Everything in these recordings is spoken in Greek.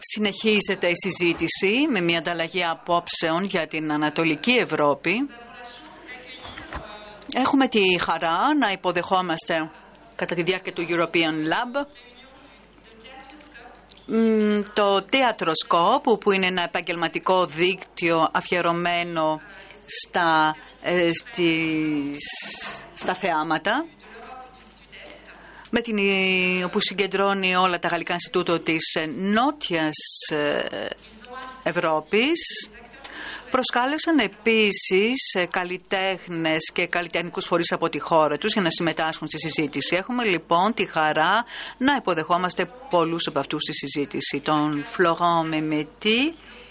Συνεχίζεται η συζήτηση με μια ανταλλαγή απόψεων για την Ανατολική Ευρώπη. Έχουμε τη χαρά να υποδεχόμαστε κατά τη διάρκεια του European Lab το Theatroscope, που είναι ένα επαγγελματικό δίκτυο αφιερωμένο στα θεάματα, όπου συγκεντρώνει όλα τα γαλλικά Ινστιτούτο της Νότιας Ευρώπης. Προσκάλεσαν επίσης καλλιτέχνες και καλλιτεχνικούς φορείς από τη χώρα τους για να συμμετάσχουν στη συζήτηση. Έχουμε λοιπόν τη χαρά να υποδεχόμαστε πολλούς από αυτούς στη συζήτηση. Τον Florent Mehmeti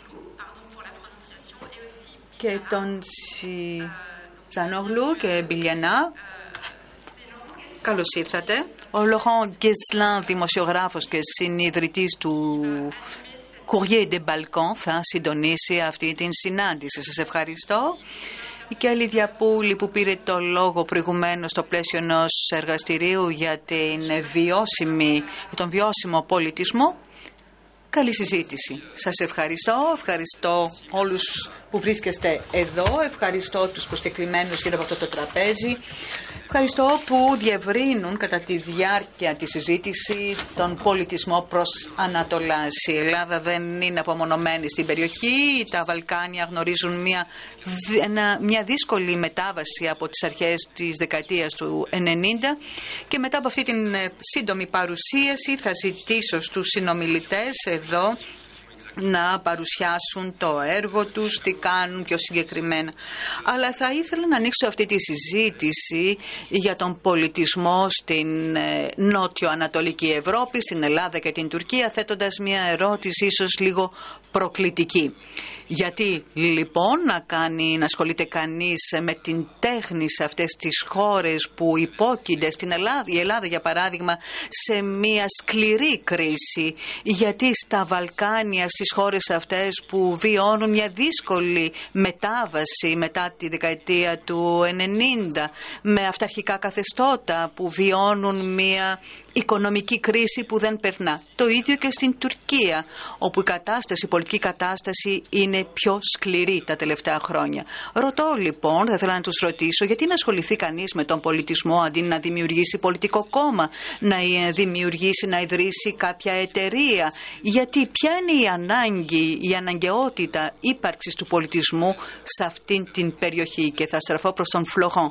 και τον Τσανόγλου και Μπιλιανά. Καλώς ήρθατε. Ο Laurent Guesselin, δημοσιογράφος και συνιδρυτής του Courrier des Balkans, θα συντονίσει αυτή την συνάντηση. Σας ευχαριστώ. Η Κέλλη Διαπούλη, που πήρε το λόγο προηγουμένως στο πλαίσιο ενός εργαστηρίου για τον βιώσιμο πολιτισμό. Καλή συζήτηση. Σας ευχαριστώ. Ευχαριστώ όλους που βρίσκεστε εδώ. Ευχαριστώ τους προσκεκλημένους γύρω από αυτό το τραπέζι. Ευχαριστώ που διευρύνουν κατά τη διάρκεια της συζήτηση τον πολιτισμό προς Ανατολάς. Η Ελλάδα δεν είναι απομονωμένη στην περιοχή. Τα Βαλκάνια γνωρίζουν μια δύσκολη μετάβαση από τις αρχές της δεκαετίας του 90, και μετά από αυτή την σύντομη παρουσίαση θα ζητήσω στους συνομιλητές εδώ να παρουσιάσουν το έργο τους, τι κάνουν πιο συγκεκριμένα. Αλλά θα ήθελα να ανοίξω αυτή τη συζήτηση για τον πολιτισμό στην νότιο-ανατολική Ευρώπη, στην Ελλάδα και την Τουρκία, θέτοντας μια ερώτηση ίσως λίγο προκλητική. Γιατί λοιπόν να ασχολείται κανείς με την τέχνη σε αυτές τις χώρες που υπόκεινται στην Ελλάδα, η Ελλάδα για παράδειγμα, σε μια σκληρή κρίση? Γιατί στα Βαλκάνια, στις χώρες αυτές που βιώνουν μια δύσκολη μετάβαση μετά τη δεκαετία του 90, με αυταρχικά καθεστώτα που βιώνουν μια οικονομική κρίση που δεν περνά. Το ίδιο και στην Τουρκία, όπου η πολιτική κατάσταση είναι πιο σκληρή τα τελευταία χρόνια. Ρωτώ λοιπόν, θα ήθελα να τους ρωτήσω, γιατί να ασχοληθεί κανείς με τον πολιτισμό αντί να δημιουργήσει πολιτικό κόμμα, να δημιουργήσει, να ιδρύσει κάποια εταιρεία? Γιατί ποια είναι η αναγκαιότητα ύπαρξης του πολιτισμού σε αυτήν την περιοχή? Και θα στραφώ προς τον Florent.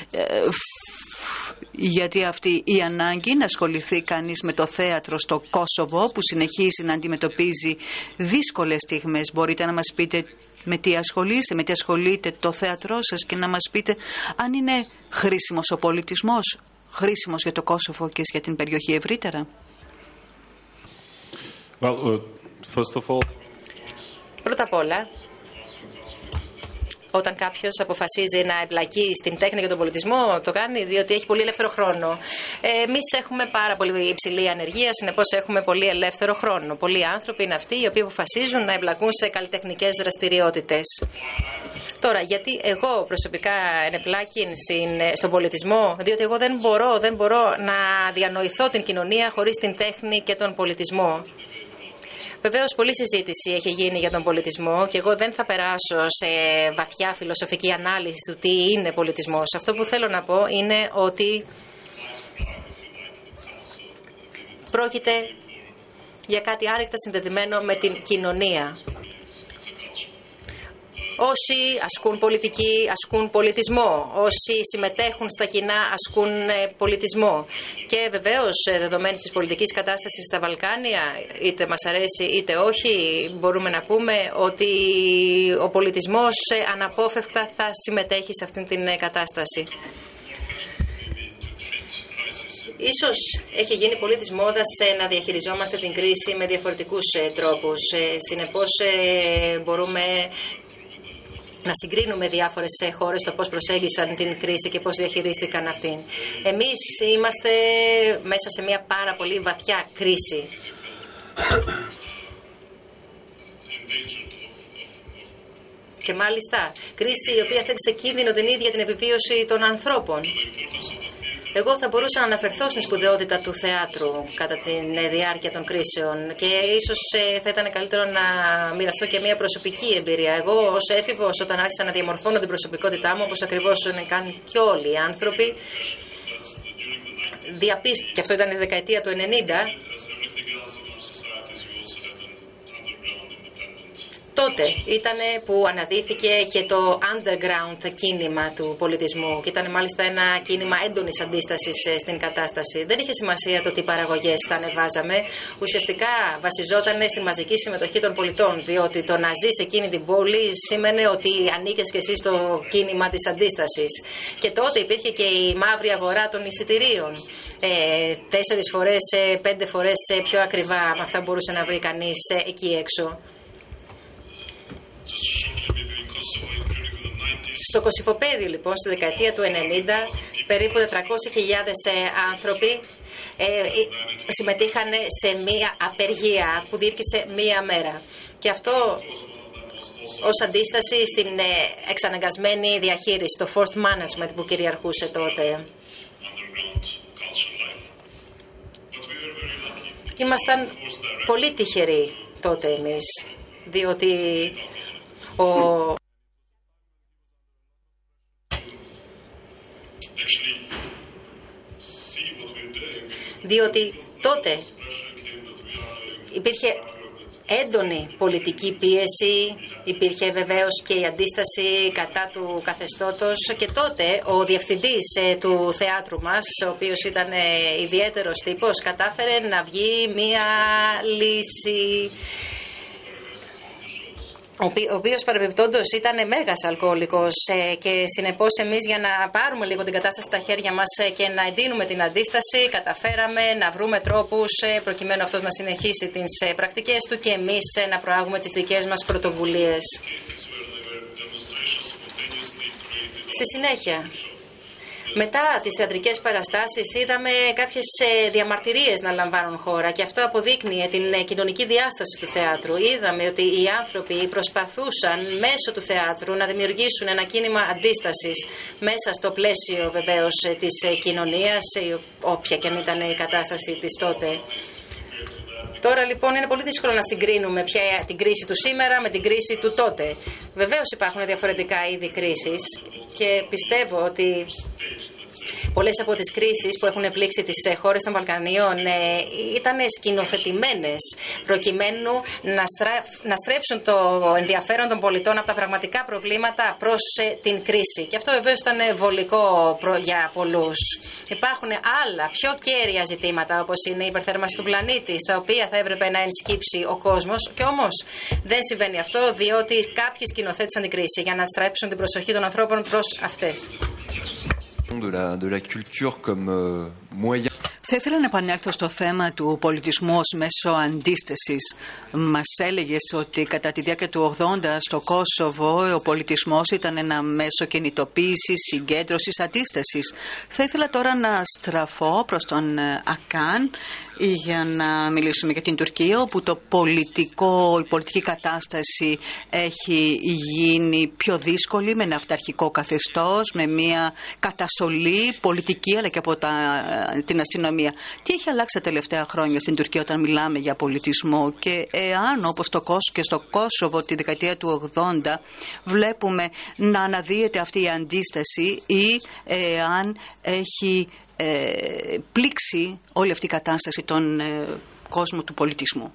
Γιατί αυτή η ανάγκη να ασχοληθεί κανείς με το θέατρο στο Κόσοβο, που συνεχίζει να αντιμετωπίζει δύσκολες στιγμές. Μπορείτε να μας πείτε με τι ασχολείται το θέατρό σας, και να μας πείτε αν είναι χρήσιμος ο πολιτισμός, χρήσιμος για το Κόσοβο και για την περιοχή ευρύτερα? Πρώτα απ' όλα, όταν κάποιος αποφασίζει να εμπλακεί στην τέχνη και τον πολιτισμό, το κάνει διότι έχει πολύ ελεύθερο χρόνο. Εμείς έχουμε πάρα πολύ υψηλή ανεργία, συνεπώς έχουμε πολύ ελεύθερο χρόνο. Πολλοί άνθρωποι είναι αυτοί οι οποίοι αποφασίζουν να εμπλακούν σε καλλιτεχνικές δραστηριότητες. Τώρα, γιατί εγώ προσωπικά ενεπλάκην στον πολιτισμό? Διότι εγώ δεν μπορώ να διανοηθώ την κοινωνία χωρίς την τέχνη και τον πολιτισμό. Βεβαίως, πολλή συζήτηση έχει γίνει για τον πολιτισμό και εγώ δεν θα περάσω σε βαθιά φιλοσοφική ανάλυση του τι είναι πολιτισμός. Αυτό που θέλω να πω είναι ότι πρόκειται για κάτι άρρηκτα συνδεδεμένο με την κοινωνία. Όσοι ασκούν πολιτική, ασκούν πολιτισμό. Όσοι συμμετέχουν στα κοινά, ασκούν πολιτισμό. Και βεβαίως, δεδομένης της πολιτικής κατάστασης στα Βαλκάνια, είτε μας αρέσει είτε όχι, μπορούμε να πούμε ότι ο πολιτισμός αναπόφευκτα θα συμμετέχει σε αυτήν την κατάσταση. Ίσως έχει γίνει πολύ της μόδας να διαχειριζόμαστε την κρίση με διαφορετικούς τρόπους. Συνεπώς, μπορούμε να συγκρίνουμε διάφορες χώρες το πώς προσέγγισαν την κρίση και πώς διαχειρίστηκαν αυτήν. Εμείς είμαστε μέσα σε μια πάρα πολύ βαθιά κρίση. Και μάλιστα κρίση η οποία θέτει σε κίνδυνο την ίδια την επιβίωση των ανθρώπων. Εγώ θα μπορούσα να αναφερθώ στην σπουδαιότητα του θεάτρου κατά τη διάρκεια των κρίσεων και ίσως θα ήταν καλύτερο να μοιραστώ και μια προσωπική εμπειρία. Εγώ ως έφηβος, όταν άρχισα να διαμορφώνω την προσωπικότητά μου, όπως ακριβώς κάνουν και όλοι οι άνθρωποι, και αυτό ήταν η δεκαετία του 90, τότε ήταν που αναδύθηκε και το underground κίνημα του πολιτισμού και ήταν μάλιστα ένα κίνημα έντονης αντίστασης στην κατάσταση. Δεν είχε σημασία το τι παραγωγές θα ανεβάζαμε, ουσιαστικά βασιζόταν στη μαζική συμμετοχή των πολιτών, διότι το να ζεις σε εκείνη την πόλη σήμαινε ότι ανήκες και εσύ στο κίνημα της αντίστασης. Και τότε υπήρχε και η μαύρη αγορά των εισιτηρίων. 4 φορές, 5 φορές πιο ακριβά με αυτά μπορούσε να βρει κανείς εκεί έξω. Στο Κωσυφοπέδιο λοιπόν στη δεκαετία του 90 περίπου 400.000 άνθρωποι συμμετείχαν σε μία απεργία που διήρκησε μία μέρα και αυτό ως αντίσταση στην εξαναγκασμένη διαχείριση, το forced management που κυριαρχούσε τότε. Ήμασταν πολύ τυχεροί τότε εμείς, διότι τότε υπήρχε έντονη πολιτική πίεση, υπήρχε βεβαίως και η αντίσταση κατά του καθεστώτος και τότε ο διευθυντής του θεάτρου μας, ο οποίος ήταν ιδιαίτερος τύπος, κατάφερε να βγει μία λύση, ο οποίος παρεμπιπτόντως ήταν μέγας αλκοολικός και συνεπώς εμείς για να πάρουμε λίγο την κατάσταση στα χέρια μας και να εντείνουμε την αντίσταση καταφέραμε να βρούμε τρόπους προκειμένου αυτός να συνεχίσει τις πρακτικές του και εμείς να προάγουμε τις δικές μας πρωτοβουλίες. Στη συνέχεια, μετά τις θεατρικές παραστάσεις είδαμε κάποιες διαμαρτυρίες να λαμβάνουν χώρα και αυτό αποδείκνυε την κοινωνική διάσταση του θεάτρου. Είδαμε ότι οι άνθρωποι προσπαθούσαν μέσω του θεάτρου να δημιουργήσουν ένα κίνημα αντίστασης μέσα στο πλαίσιο βεβαίως της κοινωνίας, όποια και αν ήταν η κατάσταση της τότε. Τώρα λοιπόν είναι πολύ δύσκολο να συγκρίνουμε πια την κρίση του σήμερα με την κρίση του τότε. Βεβαίως υπάρχουν διαφορετικά είδη κρίσης και πιστεύω ότι πολλές από τις κρίσεις που έχουν πλήξει τις χώρες των Βαλκανίων ήταν σκηνοθετημένες προκειμένου να στρέψουν το ενδιαφέρον των πολιτών από τα πραγματικά προβλήματα προς την κρίση. Και αυτό βεβαίως ήταν βολικό για πολλούς. Υπάρχουν άλλα πιο κέρια ζητήματα όπως είναι η υπερθέρμανση του πλανήτη, στα οποία θα έπρεπε να ενσκύψει ο κόσμος και όμως δεν συμβαίνει αυτό διότι κάποιοι σκηνοθέτησαν την κρίση για να στρέψουν την προσοχή των ανθρώπων προς αυτές. Θα ήθελα να επανέλθω στο θέμα του πολιτισμού ως μέσο αντίστασης. Μας έλεγες ότι κατά τη διάρκεια του 80 στο Κόσοβο ο πολιτισμός ήταν ένα μέσο κινητοποίησης, συγκέντρωσης, αντίστασης. Θα ήθελα τώρα να στραφώ προς τον Ακάν για να μιλήσουμε για την Τουρκία, όπου η πολιτική κατάσταση έχει γίνει πιο δύσκολη με ένα αυταρχικό καθεστώς, με μια καταστολή πολιτική αλλά και από την αστυνομία. Τι έχει αλλάξει τα τελευταία χρόνια στην Τουρκία όταν μιλάμε για πολιτισμό και εάν όπως και στο Κόσοβο τη δεκαετία του 80 βλέπουμε να αναδύεται αυτή η αντίσταση ή εάν έχει πλήξει όλη αυτή η κατάσταση τον κόσμο του πολιτισμού.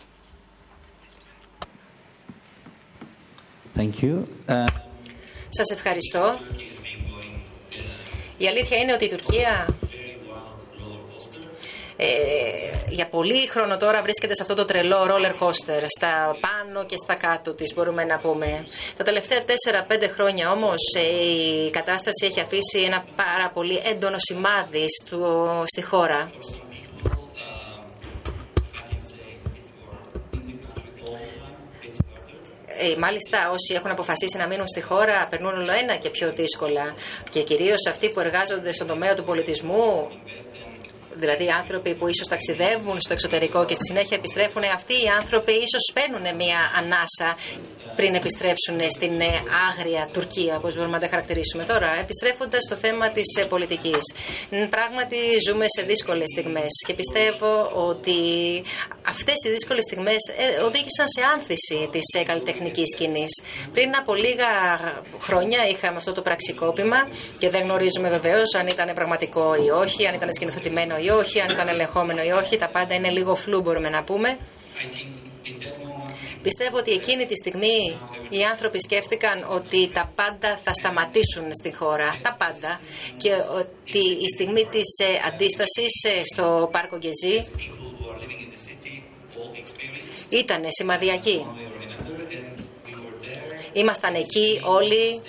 Thank you. Σας ευχαριστώ. Η αλήθεια είναι ότι η Τουρκία για πολύ χρόνο τώρα βρίσκεται σε αυτό το τρελό roller coaster, στα πάνω και στα κάτω της μπορούμε να πούμε. Τα τελευταία 4-5 χρόνια όμως η κατάσταση έχει αφήσει ένα πάρα πολύ έντονο σημάδι στη χώρα. Μάλιστα όσοι έχουν αποφασίσει να μείνουν στη χώρα περνούν όλο ένα και πιο δύσκολα και κυρίως αυτοί που εργάζονται στον τομέα του πολιτισμού δηλαδή άνθρωποι που ίσως ταξιδεύουν στο εξωτερικό και στη συνέχεια επιστρέφουν, αυτοί οι άνθρωποι ίσως παίρνουν μια ανάσα πριν επιστρέψουν στην άγρια Τουρκία, όπως μπορούμε να τα χαρακτηρίσουμε. Τώρα, επιστρέφοντας στο θέμα της πολιτικής, πράγματι ζούμε σε δύσκολες στιγμές και πιστεύω ότι αυτές οι δύσκολες στιγμές οδήγησαν σε άνθηση της καλλιτεχνικής σκηνής. Πριν από λίγα χρόνια είχαμε αυτό το πραξικόπημα και δεν γνωρίζουμε βεβαίως αν ήταν πραγματικό ή όχι, αν ήταν σκηνοθετημένο ή όχι, αν ήταν ελεγχόμενο ή όχι. Τα πάντα είναι λίγο φλού, μπορούμε να πούμε. Πιστεύω ότι εκείνη τη στιγμή οι άνθρωποι σκέφτηκαν ότι τα πάντα θα σταματήσουν στην χώρα, τα πάντα, και ότι η στιγμή της αντίστασης στο Πάρκο Γκεζί ήταν σημαδιακή. Ήμασταν εκεί όλοι.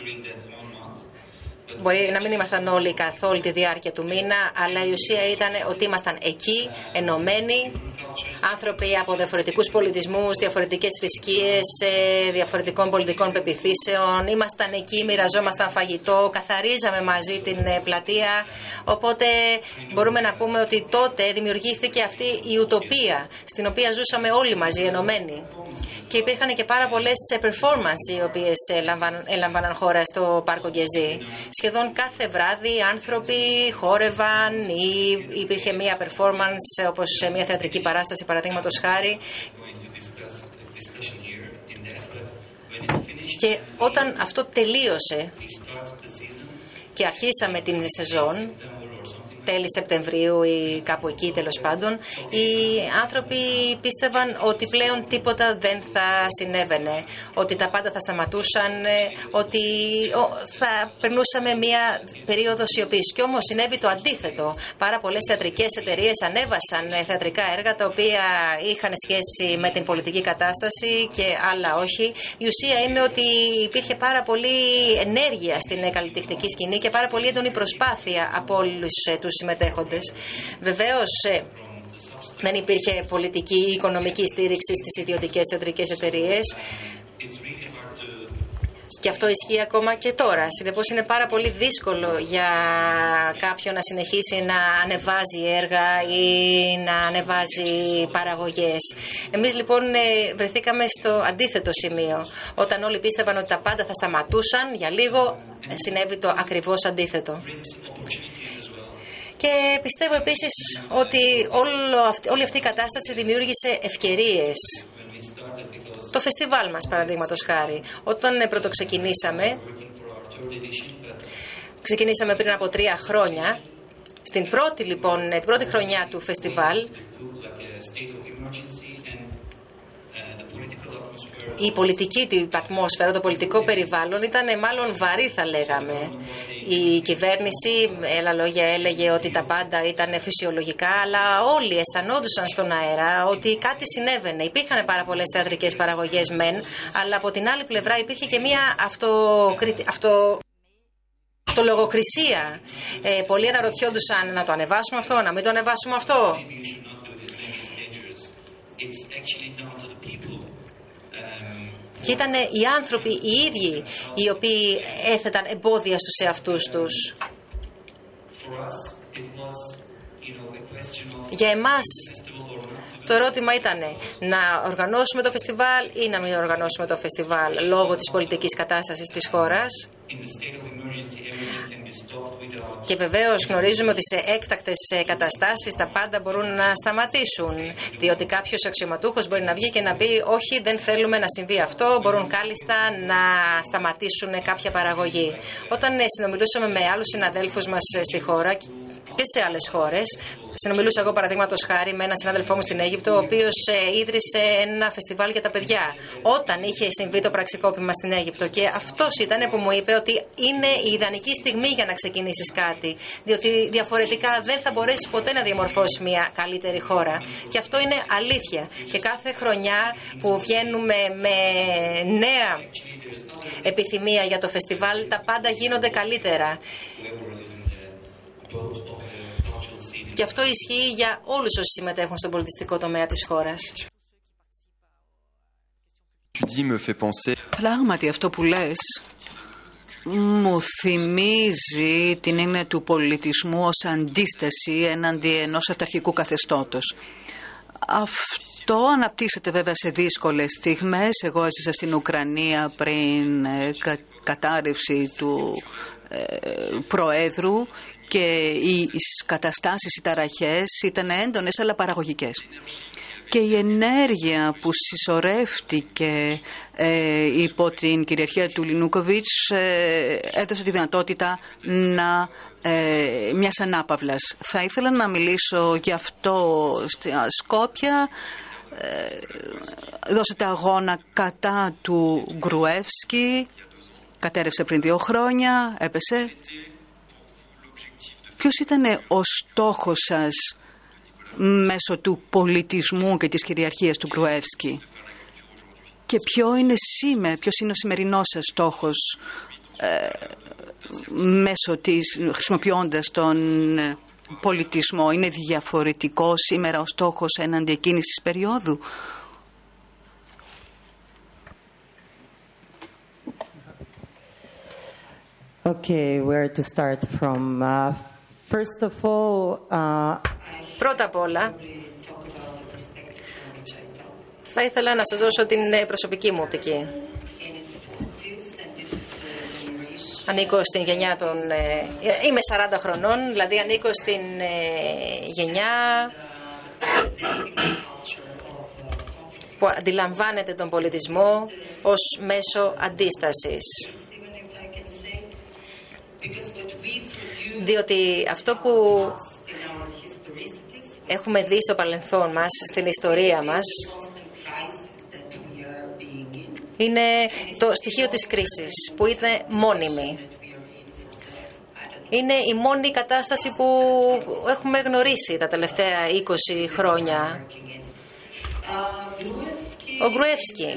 Μπορεί να μην ήμασταν όλοι καθ' όλη τη διάρκεια του μήνα, αλλά η ουσία ήταν ότι ήμασταν εκεί, ενωμένοι, άνθρωποι από διαφορετικούς πολιτισμούς, διαφορετικές θρησκείες, διαφορετικών πολιτικών πεποιθήσεων. Ήμασταν εκεί, μοιραζόμασταν φαγητό, καθαρίζαμε μαζί την πλατεία. Οπότε μπορούμε να πούμε ότι τότε δημιουργήθηκε αυτή η ουτοπία, στην οποία ζούσαμε όλοι μαζί, ενωμένοι. Και υπήρχαν και πάρα πολλές performance οι οποίες έλαμβαναν χώρα στο Πάρκο Γκεζί. Σχεδόν κάθε βράδυ άνθρωποι χόρευαν ή υπήρχε μία performance, όπως μία θεατρική παράσταση παραδείγματος χάρη. Και όταν αυτό τελείωσε και αρχίσαμε την σεζόν, τέλη Σεπτεμβρίου ή κάπου εκεί τέλος πάντων, οι άνθρωποι πίστευαν ότι πλέον τίποτα δεν θα συνέβαινε, ότι τα πάντα θα σταματούσαν, ότι θα περνούσαμε μια περίοδο σιωπής. Κι όμως συνέβη το αντίθετο. Πάρα πολλές θεατρικές εταιρείες ανέβασαν θεατρικά έργα τα οποία είχαν σχέση με την πολιτική κατάσταση και άλλα όχι. Η ουσία είναι ότι υπήρχε πάρα πολύ ενέργεια στην καλλιτεχνική σκηνή και πάρα πολύ έντονη προσπάθεια από όλους τους συμμετέχοντες. Βεβαίως δεν υπήρχε πολιτική ή οικονομική στήριξη στις ιδιωτικές θεατρικές εταιρείες και αυτό ισχύει ακόμα και τώρα. Συνεπώς είναι πάρα πολύ δύσκολο για κάποιον να συνεχίσει να ανεβάζει έργα ή να ανεβάζει παραγωγές. Εμείς λοιπόν βρεθήκαμε στο αντίθετο σημείο. Όταν όλοι πίστευαν ότι τα πάντα θα σταματούσαν, για λίγο συνέβη το ακριβώς αντίθετο. Και πιστεύω επίσης ότι όλη αυτή η κατάσταση δημιούργησε ευκαιρίες. Το φεστιβάλ μας, παραδείγματος χάρη, όταν πρωτοξεκινήσαμε πριν από 3 χρόνια, στην πρώτη χρονιά του φεστιβάλ, η πολιτική του ατμόσφαιρα, το πολιτικό περιβάλλον ήταν μάλλον βαρύ, θα λέγαμε. Η κυβέρνηση, με άλλα λόγια, έλεγε ότι τα πάντα ήταν φυσιολογικά, αλλά όλοι αισθανόντουσαν στον αέρα ότι κάτι συνέβαινε. Υπήρχαν πάρα πολλές θεατρικές παραγωγές μεν, αλλά από την άλλη πλευρά υπήρχε και μια αυτολογοκρισία. Πολλοί αναρωτιόντουσαν να το ανεβάσουμε αυτό, να μην το ανεβάσουμε αυτό. Και ήταν οι άνθρωποι οι ίδιοι οι οποίοι έθεταν εμπόδια στους εαυτούς τους. Για εμάς το ερώτημα ήταν να οργανώσουμε το φεστιβάλ ή να μην οργανώσουμε το φεστιβάλ λόγω της πολιτικής κατάστασης της χώρας. Και βεβαίως γνωρίζουμε ότι σε έκτακτες καταστάσεις τα πάντα μπορούν να σταματήσουν. Διότι κάποιος αξιωματούχος μπορεί να βγει και να πει όχι, δεν θέλουμε να συμβεί αυτό, μπορούν κάλλιστα να σταματήσουν κάποια παραγωγή. Όταν συνομιλούσαμε με άλλους συναδέλφους μας στη χώρα και σε άλλες χώρες, συνομιλούσα εγώ παραδείγματος χάρη με έναν συνάδελφό μου στην Αίγυπτο, ο οποίος ίδρυσε ένα φεστιβάλ για τα παιδιά όταν είχε συμβεί το πραξικόπημα στην Αίγυπτο. Και αυτός ήταν που μου είπε ότι είναι η ιδανική στιγμή για να ξεκινήσεις κάτι, διότι διαφορετικά δεν θα μπορέσεις ποτέ να διαμορφώσεις μια καλύτερη χώρα. Και αυτό είναι αλήθεια. Και κάθε χρονιά που βγαίνουμε με νέα επιθυμία για το φεστιβάλ, τα πάντα γίνονται καλύτερα. Και αυτό ισχύει για όλους όσοι συμμετέχουν στον πολιτιστικό τομέα της χώρας. Πράγματι αυτό που λες μου θυμίζει την έννοια του πολιτισμού ως αντίσταση έναντι ενός αυταρχικού καθεστώτος. Αυτό αναπτύσσεται βέβαια σε δύσκολες στιγμές. Εγώ έζησα στην Ουκρανία πριν κατάρρευση του Προέδρου και οι καταστάσεις, οι ταραχές ήταν έντονες αλλά παραγωγικές. Και η ενέργεια που συσσωρεύτηκε υπό την κυριαρχία του Янукович έδωσε τη δυνατότητα μιας ανάπαυλας. Θα ήθελα να μιλήσω γι' αυτό στα Σκόπια. Δώσετε αγώνα κατά του Γκρουεύσκι. Κατέρευσε πριν 2 χρόνια, έπεσε. Ποιος ήταν ο στόχος σας μέσω του πολιτισμού και της κυριαρχίας του Γκρουεύσκι? Και ποιος είναι ο σημερινός σας στόχος χρησιμοποιώντας τον πολιτισμό? Είναι διαφορετικό σήμερα ο στόχος έναντι εκείνης της περίοδου? Okay, where to start from? First of all, πρώτα απ' όλα, θα ήθελα να σας δώσω την προσωπική μου οπτική. Ανήκω στην γενιά των... είμαι 40 χρονών, δηλαδή ανήκω στην γενιά που αντιλαμβάνεται τον πολιτισμό ως μέσο αντίστασης. Διότι αυτό που έχουμε δει στο παρελθόν μας, στην ιστορία μας, είναι το στοιχείο της κρίσης, που είναι μόνιμη. Είναι η μόνη κατάσταση που έχουμε γνωρίσει τα τελευταία 20 χρόνια. Ο Γκρουεύσκι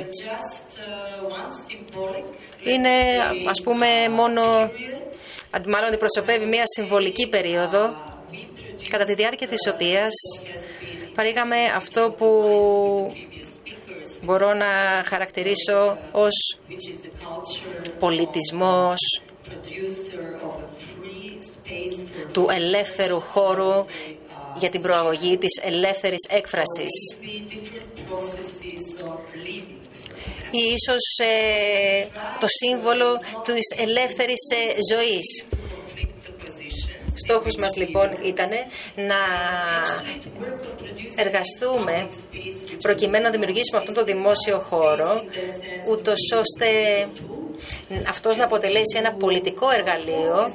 είναι, ας πούμε, μάλλον αντιπροσωπεύει μια συμβολική περίοδο κατά τη διάρκεια της οποίας παρήγαμε αυτό που μπορώ να χαρακτηρίσω ως πολιτισμός του ελεύθερου χώρου για την προαγωγή της ελεύθερης έκφρασης ή ίσως το σύμβολο της ελεύθερης ζωής. Στόχος μας λοιπόν ήταν να εργαστούμε προκειμένου να δημιουργήσουμε αυτόν τον δημόσιο χώρο, ούτως ώστε αυτός να αποτελέσει ένα πολιτικό εργαλείο,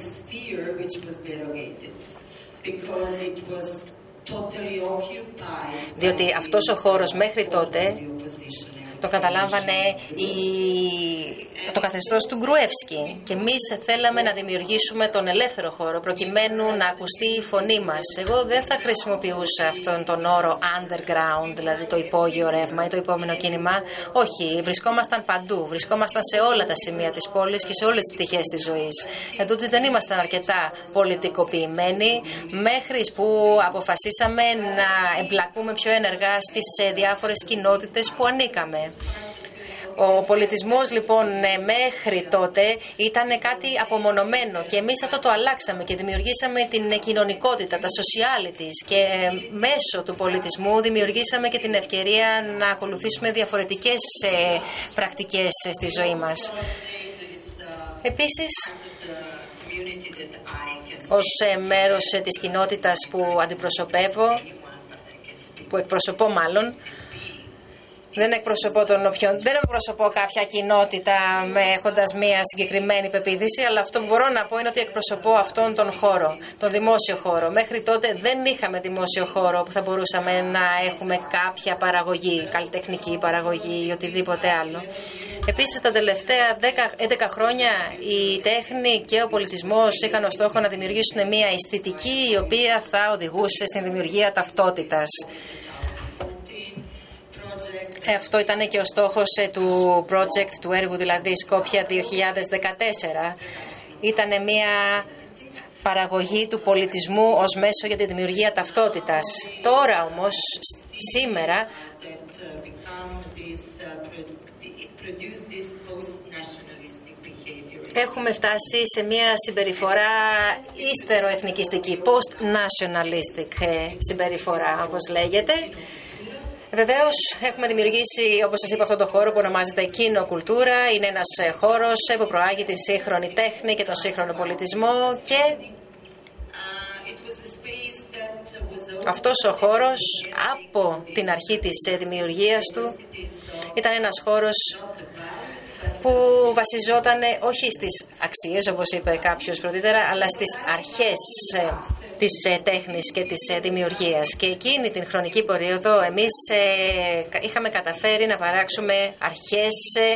διότι αυτός ο χώρος μέχρι τότε το καταλάμβανε το καθεστώς του Γκρουεύσκι και εμείς θέλαμε να δημιουργήσουμε τον ελεύθερο χώρο προκειμένου να ακουστεί η φωνή μας. Εγώ δεν θα χρησιμοποιούσα αυτόν τον όρο underground, δηλαδή το υπόγειο ρεύμα ή το υπόμενο κίνημα. Όχι, βρισκόμασταν παντού, βρισκόμασταν σε όλα τα σημεία της πόλης και σε όλες τις πτυχές της ζωής. Εν τούτης δεν ήμασταν αρκετά πολιτικοποιημένοι μέχρι που αποφασίσαμε να εμπλακούμε πιο ενεργά στις διάφορες κοινότητες που ανήκαμε. Ο πολιτισμός λοιπόν μέχρι τότε ήταν κάτι απομονωμένο και εμείς αυτό το αλλάξαμε και δημιουργήσαμε την κοινωνικότητα, τα socialities και μέσω του πολιτισμού δημιουργήσαμε και την ευκαιρία να ακολουθήσουμε διαφορετικές πρακτικές στη ζωή μας. Επίσης, ως μέρος της κοινότητας που αντιπροσωπεύω, που εκπροσωπώ μάλλον, δεν εκπροσωπώ κάποια κοινότητα έχοντας μία συγκεκριμένη πεποίθηση, αλλά αυτό που μπορώ να πω είναι ότι εκπροσωπώ αυτόν τον χώρο, τον δημόσιο χώρο. Μέχρι τότε δεν είχαμε δημόσιο χώρο που θα μπορούσαμε να έχουμε κάποια παραγωγή, καλλιτεχνική παραγωγή ή οτιδήποτε άλλο. Επίσης, τα τελευταία 11 χρόνια η τέχνη και ο πολιτισμός είχαν ως στόχο να δημιουργήσουν μία αισθητική η οποία θα οδηγούσε στην δημιουργία ταυτότητας. Αυτό ήταν και ο στόχος του project, του έργου δηλαδή Σκόπια 2014. Ήταν μια παραγωγή του πολιτισμού ως μέσο για τη δημιουργία ταυτότητας. Τώρα όμως, σήμερα, Έχουμε φτάσει σε μια συμπεριφορά ύστερο-εθνικιστική, post-nationalistic συμπεριφορά, όπως λέγεται. Βεβαίως, έχουμε δημιουργήσει, όπως σας είπα, αυτό το χώρο που ονομάζεται Κοινοκουλτούρα. Είναι ένας χώρος που προάγει τη σύγχρονη τέχνη και τον σύγχρονο πολιτισμό και αυτός ο χώρος από την αρχή της δημιουργίας του ήταν ένας χώρος που βασιζόταν όχι στις αξίες, όπως είπε κάποιος πρωτήτερα, αλλά στις αρχές της τέχνης και της δημιουργίας. Και εκείνη την χρονική περίοδο εμείς είχαμε καταφέρει να παράξουμε αρχές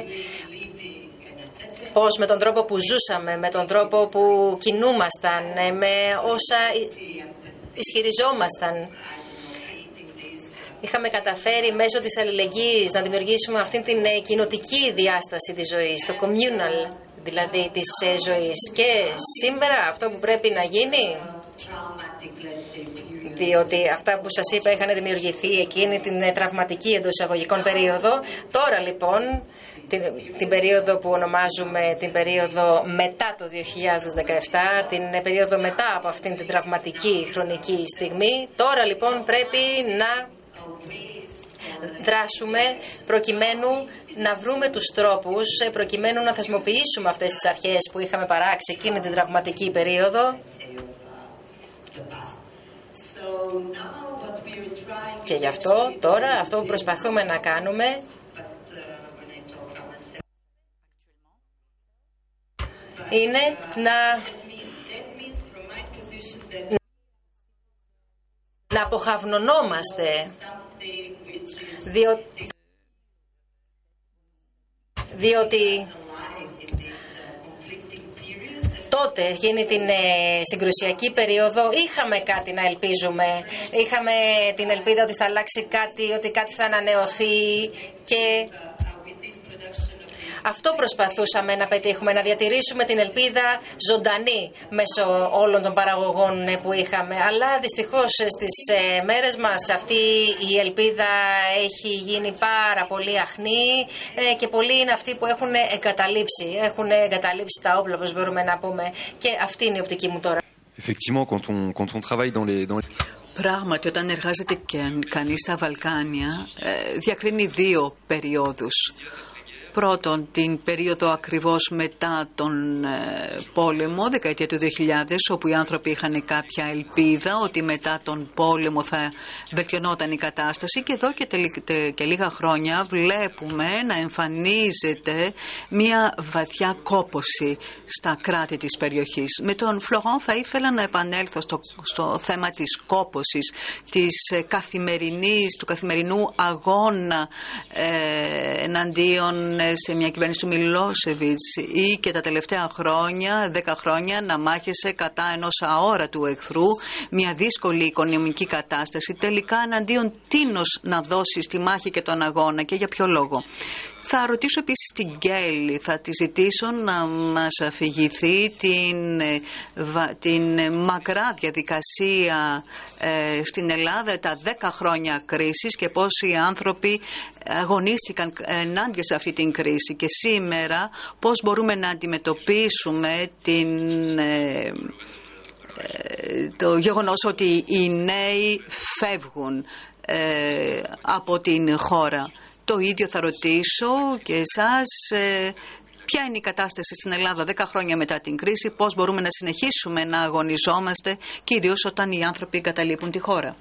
ως με τον τρόπο που ζούσαμε, με τον τρόπο που κινούμασταν, με όσα ισχυριζόμασταν. Είχαμε καταφέρει μέσω της αλληλεγγύης να δημιουργήσουμε αυτήν την κοινοτική διάσταση της ζωής, το communal δηλαδή της ζωής. Και σήμερα αυτό που πρέπει να γίνει, διότι αυτά που σας είπα είχαν δημιουργηθεί εκείνη την τραυματική εντός εισαγωγικών περίοδο, τώρα λοιπόν την περίοδο που ονομάζουμε την περίοδο μετά το 2017, την περίοδο μετά από αυτήν την τραυματική χρονική στιγμή, τώρα λοιπόν πρέπει να δράσουμε προκειμένου να βρούμε τους τρόπους, προκειμένου να θεσμοποιήσουμε αυτές τις αρχές που είχαμε παράξει εκείνη την τραυματική περίοδο. Και γι' αυτό τώρα αυτό που προσπαθούμε να κάνουμε είναι να αποχαυνωνόμαστε, διότι τότε, εκείνη την συγκρουσιακή περίοδο, είχαμε κάτι να ελπίζουμε. Είχαμε την ελπίδα ότι θα αλλάξει κάτι, ότι κάτι θα ανανεωθεί και αυτό προσπαθούσαμε να πετύχουμε, να διατηρήσουμε την ελπίδα ζωντανή μέσω όλων των παραγωγών που είχαμε. Αλλά δυστυχώς στις μέρες μας αυτή η ελπίδα έχει γίνει πάρα πολύ αχνή και πολλοί είναι αυτοί που έχουν εγκαταλείψει τα όπλα, όπως μπορούμε να πούμε. Και αυτή είναι η οπτική μου τώρα. Πράγματι, όταν εργάζεται κανείς στα Βαλκάνια, διακρίνει δύο περιόδους. Πρώτον, την περίοδο ακριβώς μετά τον πόλεμο, δεκαετία του 2000, όπου οι άνθρωποι είχαν κάποια ελπίδα ότι μετά τον πόλεμο θα βελτιωνόταν η κατάσταση, και εδώ και λίγα χρόνια βλέπουμε να εμφανίζεται μια βαθιά κόπωση στα κράτη της περιοχής. Με τον Φλωρόν θα ήθελα να επανέλθω στο θέμα της κόπωσης, του καθημερινού αγώνα εναντίον σε μια κυβέρνηση του Μιλόσεβιτς, ή και τα τελευταία χρόνια, 10 χρόνια, να μάχεσαι κατά ενός αόρατου εχθρού, μια δύσκολη οικονομική κατάσταση. Τελικά εναντίον τίνος να δώσεις τη μάχη και τον αγώνα και για ποιο λόγο? Θα ρωτήσω επίσης την Γκέλη, θα τη ζητήσω να μας αφηγηθεί την μακρά διαδικασία στην Ελλάδα, τα 10 χρόνια κρίσης, και πώς οι άνθρωποι αγωνίστηκαν ενάντια σε αυτή την κρίση, και σήμερα πώς μπορούμε να αντιμετωπίσουμε το γεγονός ότι οι νέοι φεύγουν από την χώρα. Το ίδιο θα ρωτήσω και εσάς, ποια είναι η κατάσταση στην Ελλάδα 10 χρόνια μετά την κρίση, πώς μπορούμε να συνεχίσουμε να αγωνιζόμαστε, κυρίως όταν οι άνθρωποι εγκαταλείπουν τη χώρα.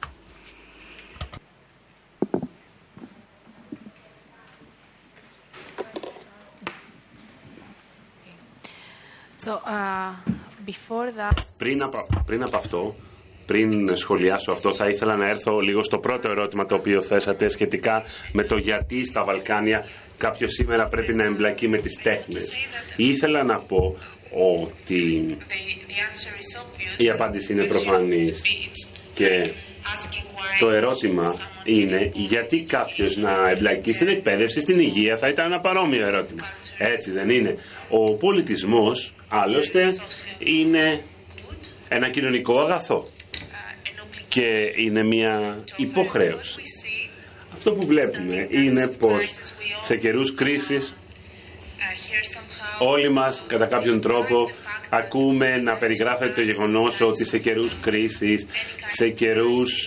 Πριν από αυτό, πριν σχολιάσω αυτό, θα ήθελα να έρθω λίγο στο πρώτο ερώτημα το οποίο θέσατε σχετικά με το γιατί στα Βαλκάνια κάποιος σήμερα πρέπει να εμπλακεί με τις τέχνες. Ήθελα να πω ότι η απάντηση είναι προφανής και το ερώτημα είναι γιατί κάποιος να εμπλακεί στην εκπαίδευση, στην υγεία. Θα ήταν ένα παρόμοιο ερώτημα. Έτσι δεν είναι? Ο πολιτισμός άλλωστε είναι ένα κοινωνικό αγαθό και είναι μια υποχρέωση. Αυτό που βλέπουμε είναι πως σε καιρούς κρίσης όλοι μας κατά κάποιον τρόπο ακούμε να περιγράφεται το γεγονός ότι σε καιρούς κρίσης, σε καιρούς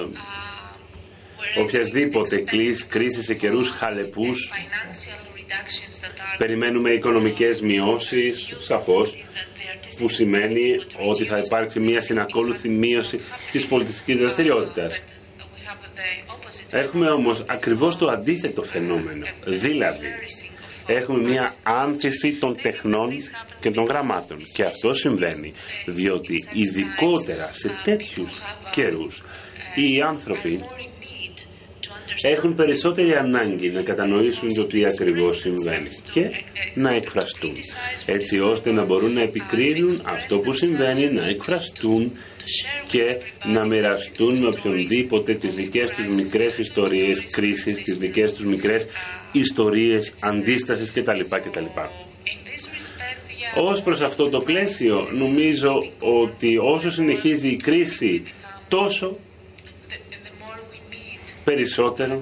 οποιασδήποτε κρίση, σε καιρούς χαλεπούς, περιμένουμε οικονομικές μειώσεις, σαφώς, που σημαίνει ότι θα υπάρξει μια συνακόλουθη μείωση της πολιτιστικής δραστηριότητας. Έχουμε όμως ακριβώς το αντίθετο φαινόμενο, δηλαδή έχουμε μια άνθηση των τεχνών και των γραμμάτων, και αυτό συμβαίνει διότι ειδικότερα σε τέτοιους καιρούς οι άνθρωποι έχουν περισσότερη ανάγκη να κατανοήσουν το τι ακριβώς συμβαίνει και να εκφραστούν, έτσι ώστε να μπορούν να επικρίνουν αυτό που συμβαίνει, να εκφραστούν και να μοιραστούν με οποιονδήποτε τις δικές τους μικρές ιστορίες κρίσης, τις δικές τους μικρές ιστορίες αντίστασης κτλ. Ως προς αυτό το πλαίσιο, νομίζω ότι όσο συνεχίζει η κρίση, τόσο περισσότερο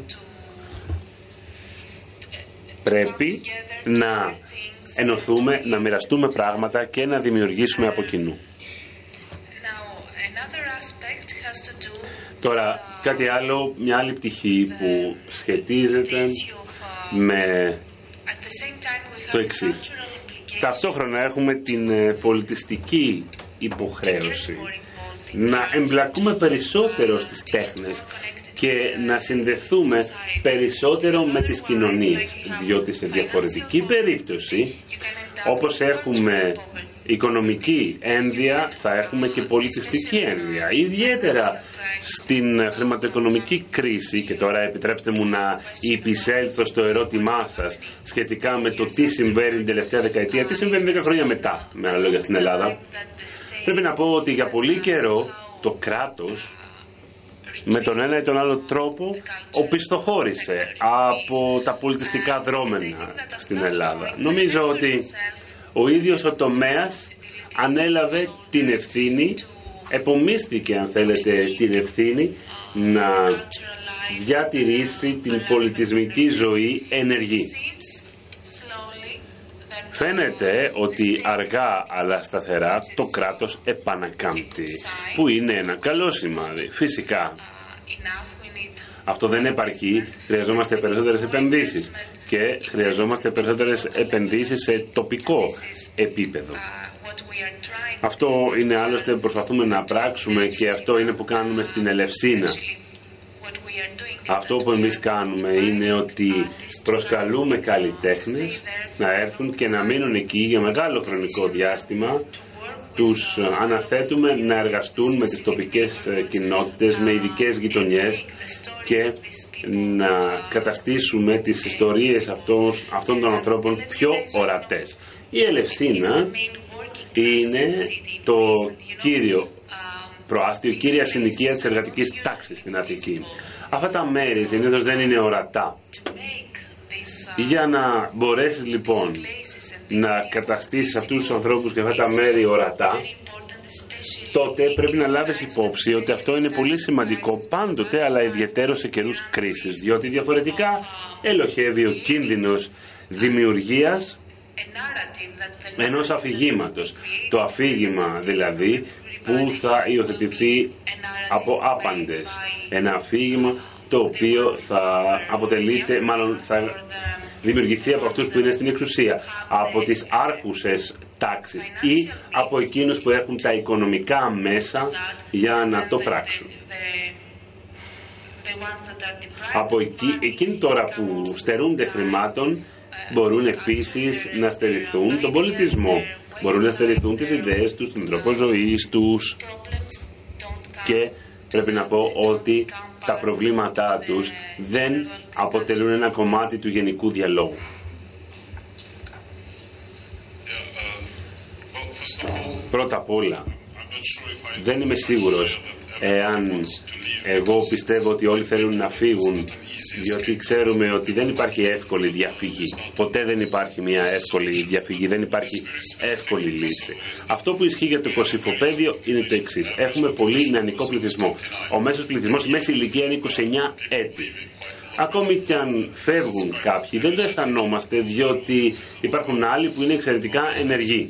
πρέπει να ενωθούμε, να μοιραστούμε πράγματα και να δημιουργήσουμε από κοινού. Τώρα, κάτι άλλο, μια άλλη πτυχή που σχετίζεται με το εξής. Ταυτόχρονα έχουμε την πολιτιστική υποχρέωση να εμπλακούμε περισσότερο στις τέχνες και να συνδεθούμε περισσότερο με τις κοινωνίες, διότι σε διαφορετική περίπτωση, όπως έχουμε οικονομική ένδια, θα έχουμε και πολιτιστική ένδια. Ιδιαίτερα στην χρηματοοικονομική κρίση, και τώρα επιτρέψτε μου να υπησέλθω στο ερώτημά σας σχετικά με το τι συμβαίνει την τελευταία δεκαετία, τι συμβαίνει 10 χρόνια μετά, με άλλα λόγια, στην Ελλάδα. Πρέπει να πω ότι για πολύ καιρό το κράτος με τον ένα ή τον άλλο τρόπο οπισθοχώρησε από τα πολιτιστικά δρόμενα στην Ελλάδα. Νομίζω ότι ο ίδιος ο τομέας ανέλαβε την ευθύνη, επομίστηκε αν θέλετε την ευθύνη να διατηρήσει την πολιτισμική ζωή ενεργή. Φαίνεται ότι αργά αλλά σταθερά το κράτος επανακάμπτει, που είναι ένα καλό σημάδι. Φυσικά αυτό δεν επαρκεί, χρειαζόμαστε περισσότερες επενδύσεις και χρειαζόμαστε περισσότερες επενδύσεις σε τοπικό επίπεδο. Αυτό είναι άλλωστε που προσπαθούμε να πράξουμε και αυτό είναι που κάνουμε στην Ελευσίνα. Αυτό που εμείς κάνουμε είναι ότι προσκαλούμε καλλιτέχνες να έρθουν και να μείνουν εκεί για μεγάλο χρονικό διάστημα. Τους αναθέτουμε να εργαστούν με τις τοπικές κοινότητες, με ειδικές γειτονιές και να καταστήσουμε τις ιστορίες αυτών των ανθρώπων πιο ορατές. Η Ελευσίνα είναι το κύριο προάστιο, η κύρια συνοικία της εργατικής τάξης στην Αττική. Αυτά τα μέρη συνήθως δεν είναι ορατά. Για να μπορέσεις λοιπόν να καταστήσεις αυτούς τους ανθρώπους και αυτά τα μέρη ορατά, τότε πρέπει να λάβεις υπόψη ότι αυτό είναι πολύ σημαντικό πάντοτε, αλλά ιδιαιτέρως σε καιρούς κρίσης, διότι διαφορετικά ελοχεύει ο κίνδυνος δημιουργίας ενός αφηγήματος. Το αφήγημα δηλαδή που θα υιοθετηθεί από άπαντες. Ένα αφήγημα το οποίο θα αποτελείται, μάλλον θα δημιουργηθεί από αυτούς που είναι στην εξουσία, από τις άρχουσες τάξεις ή από εκείνους που έχουν τα οικονομικά μέσα για να το πράξουν. Από εκείνοι τώρα που στερούνται χρημάτων μπορούν επίσης να στερηθούν τον πολιτισμό, μπορούν να στερηθούν τις ιδέες τους, τον τρόπο ζωής τους, και πρέπει να πω ότι τα προβλήματά τους δεν αποτελούν ένα κομμάτι του γενικού διαλόγου. Πρώτα απ' όλα, δεν είμαι σίγουρος εάν εγώ πιστεύω ότι όλοι θέλουν να φύγουν, διότι ξέρουμε ότι δεν υπάρχει εύκολη διαφυγή. Ποτέ δεν υπάρχει μια εύκολη διαφυγή, δεν υπάρχει εύκολη λύση. Αυτό που ισχύει για το Κωσυφοπαίδιο είναι το εξής. Έχουμε πολύ νεανικό πληθυσμό. Ο μέσος πληθυσμός, η μέση ηλικία είναι 29 έτη. Ακόμη κι αν φεύγουν κάποιοι, δεν το αισθανόμαστε, διότι υπάρχουν άλλοι που είναι εξαιρετικά ενεργοί.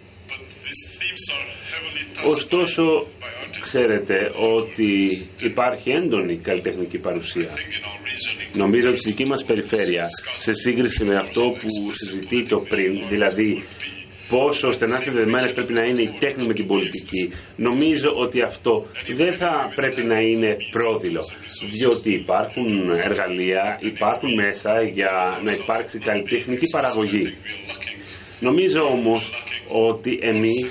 Ωστόσο, ξέρετε ότι υπάρχει έντονη καλλιτεχνική παρουσία. Νομίζω ότι στη δική μας περιφέρεια, σε σύγκριση με αυτό που συζητείται πριν, δηλαδή πόσο στενά συνδεδεμένες πρέπει να είναι η τέχνη με την πολιτική, νομίζω ότι αυτό δεν θα πρέπει να είναι πρόδειλο, διότι υπάρχουν εργαλεία, υπάρχουν μέσα για να υπάρξει καλλιτεχνική παραγωγή. Νομίζω όμως ότι εμείς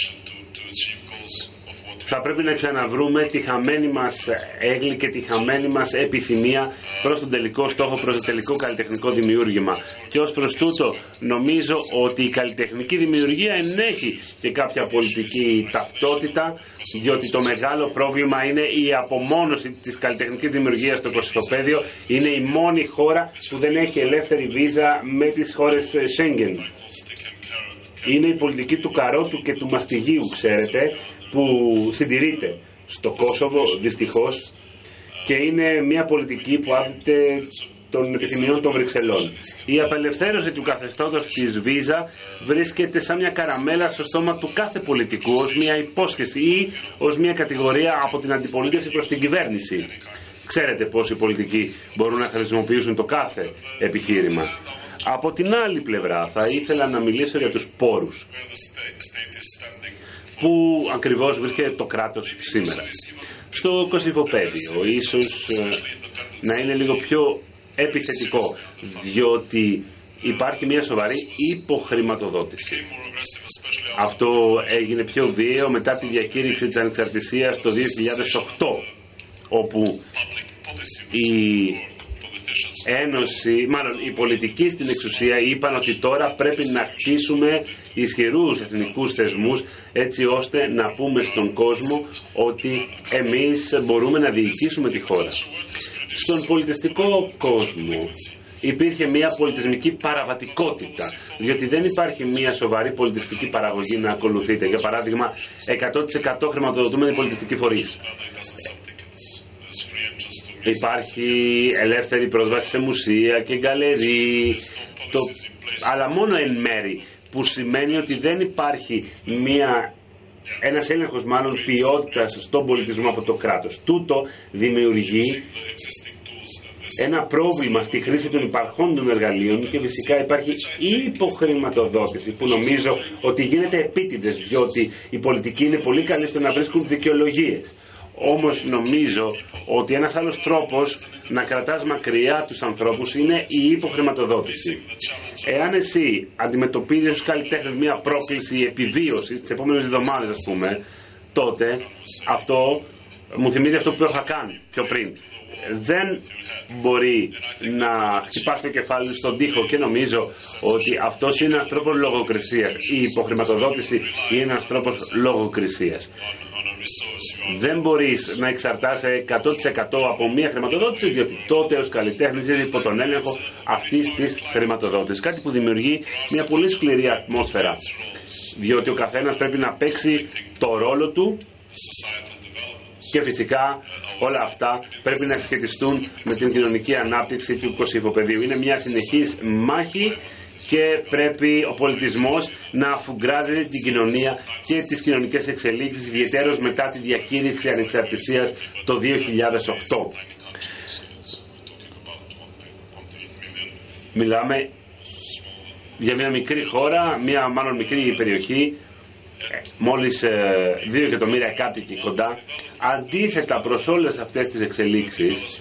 θα πρέπει να ξαναβρούμε τη χαμένη μας έγκλη και τη χαμένη μας επιθυμία προς τον τελικό στόχο, προς το τελικό καλλιτεχνικό δημιούργημα. Και ως προς τούτο νομίζω ότι η καλλιτεχνική δημιουργία ενέχει και κάποια πολιτική ταυτότητα, διότι το μεγάλο πρόβλημα είναι η απομόνωση της καλλιτεχνικής δημιουργίας στο Κωσυφοπαίδιο. Είναι η μόνη χώρα που δεν έχει ελεύθερη βίζα με τις χώρες Schengen. Είναι η πολιτική του καρότου και του μαστιγίου, ξέρετε, που συντηρείται στο Κόσοβο δυστυχώς, και είναι μια πολιτική που άπτεται των επιθυμιών των Βρυξελών. Η απελευθέρωση του καθεστώτος της βίζα βρίσκεται σαν μια καραμέλα στο στόμα του κάθε πολιτικού, ως μια υπόσχεση ή ως μια κατηγορία από την αντιπολίτευση προς την κυβέρνηση. Ξέρετε πώς οι πολιτικοί μπορούν να χρησιμοποιήσουν το κάθε επιχείρημα. Από την άλλη πλευρά θα ήθελα να μιλήσω για τους πόρους. Πού ακριβώς βρίσκεται το κράτος σήμερα? Στο Κωσυφοπαίδιο ίσως να είναι λίγο πιο επιθετικό, διότι υπάρχει μια σοβαρή υποχρηματοδότηση. Αυτό έγινε πιο βίαιο μετά τη διακήρυξη της ανεξαρτησίας το 2008, όπου οι πολιτικοί στην εξουσία είπαν ότι τώρα πρέπει να χτίσουμε ισχυρούς εθνικούς θεσμούς, έτσι ώστε να πούμε στον κόσμο ότι εμείς μπορούμε να διοικήσουμε τη χώρα. Στον πολιτιστικό κόσμο υπήρχε μια πολιτισμική παραβατικότητα, διότι δεν υπάρχει μια σοβαρή πολιτιστική παραγωγή να ακολουθείται. Για παράδειγμα, 100% χρηματοδοτούμενοι πολιτιστικοί φορείς. Υπάρχει ελεύθερη πρόσβαση σε μουσεία και γκαλερί, αλλά μόνο εν μέρη, που σημαίνει ότι δεν υπάρχει ένας έλεγχος μάλλον ποιότητας στον πολιτισμό από το κράτος. Τούτο δημιουργεί ένα πρόβλημα στη χρήση των υπαρχόντων εργαλείων και φυσικά υπάρχει υποχρηματοδότηση που νομίζω ότι γίνεται επίτηδες, διότι οι πολιτικοί είναι πολύ καλοί στο να βρίσκουν δικαιολογίες. Όμως νομίζω ότι ένας άλλος τρόπος να κρατάς μακριά τους ανθρώπους είναι η υποχρηματοδότηση. Εάν εσύ αντιμετωπίζεις ως καλλιτέχνης μια πρόκληση επιβίωσης τις επόμενες εβδομάδες, ας πούμε, τότε αυτό μου θυμίζει αυτό που είχα κάνει πιο πριν. Δεν μπορεί να χτυπάς το κεφάλι στον τοίχο, και νομίζω ότι αυτός είναι ένας τρόπος λογοκρισίας. Η υποχρηματοδότηση είναι ένας τρόπος λογοκρισίας. Δεν μπορείς να εξαρτάσαι 100% από μία χρηματοδότηση, διότι τότε ως καλλιτέχνης είσαι υπό τον έλεγχο αυτής της χρηματοδότησης. Κάτι που δημιουργεί μια πολύ σκληρή ατμόσφαιρα, διότι ο καθένας πρέπει να παίξει το ρόλο του και φυσικά όλα αυτά πρέπει να σχετιστούν με την κοινωνική ανάπτυξη του Κωσυφοπεδίου. Είναι μια συνεχής μάχη και πρέπει ο πολιτισμός να αφουγκράζει την κοινωνία και τις κοινωνικές εξελίξεις, ιδιαιτέρως μετά τη διακήρυξη ανεξαρτησίας το 2008. Μιλάμε για μια μικρή χώρα, μια μάλλον μικρή περιοχή, μόλις 2 εκατομμύρια κάτοικοι κοντά. Αντίθετα προς όλες αυτές τις εξελίξεις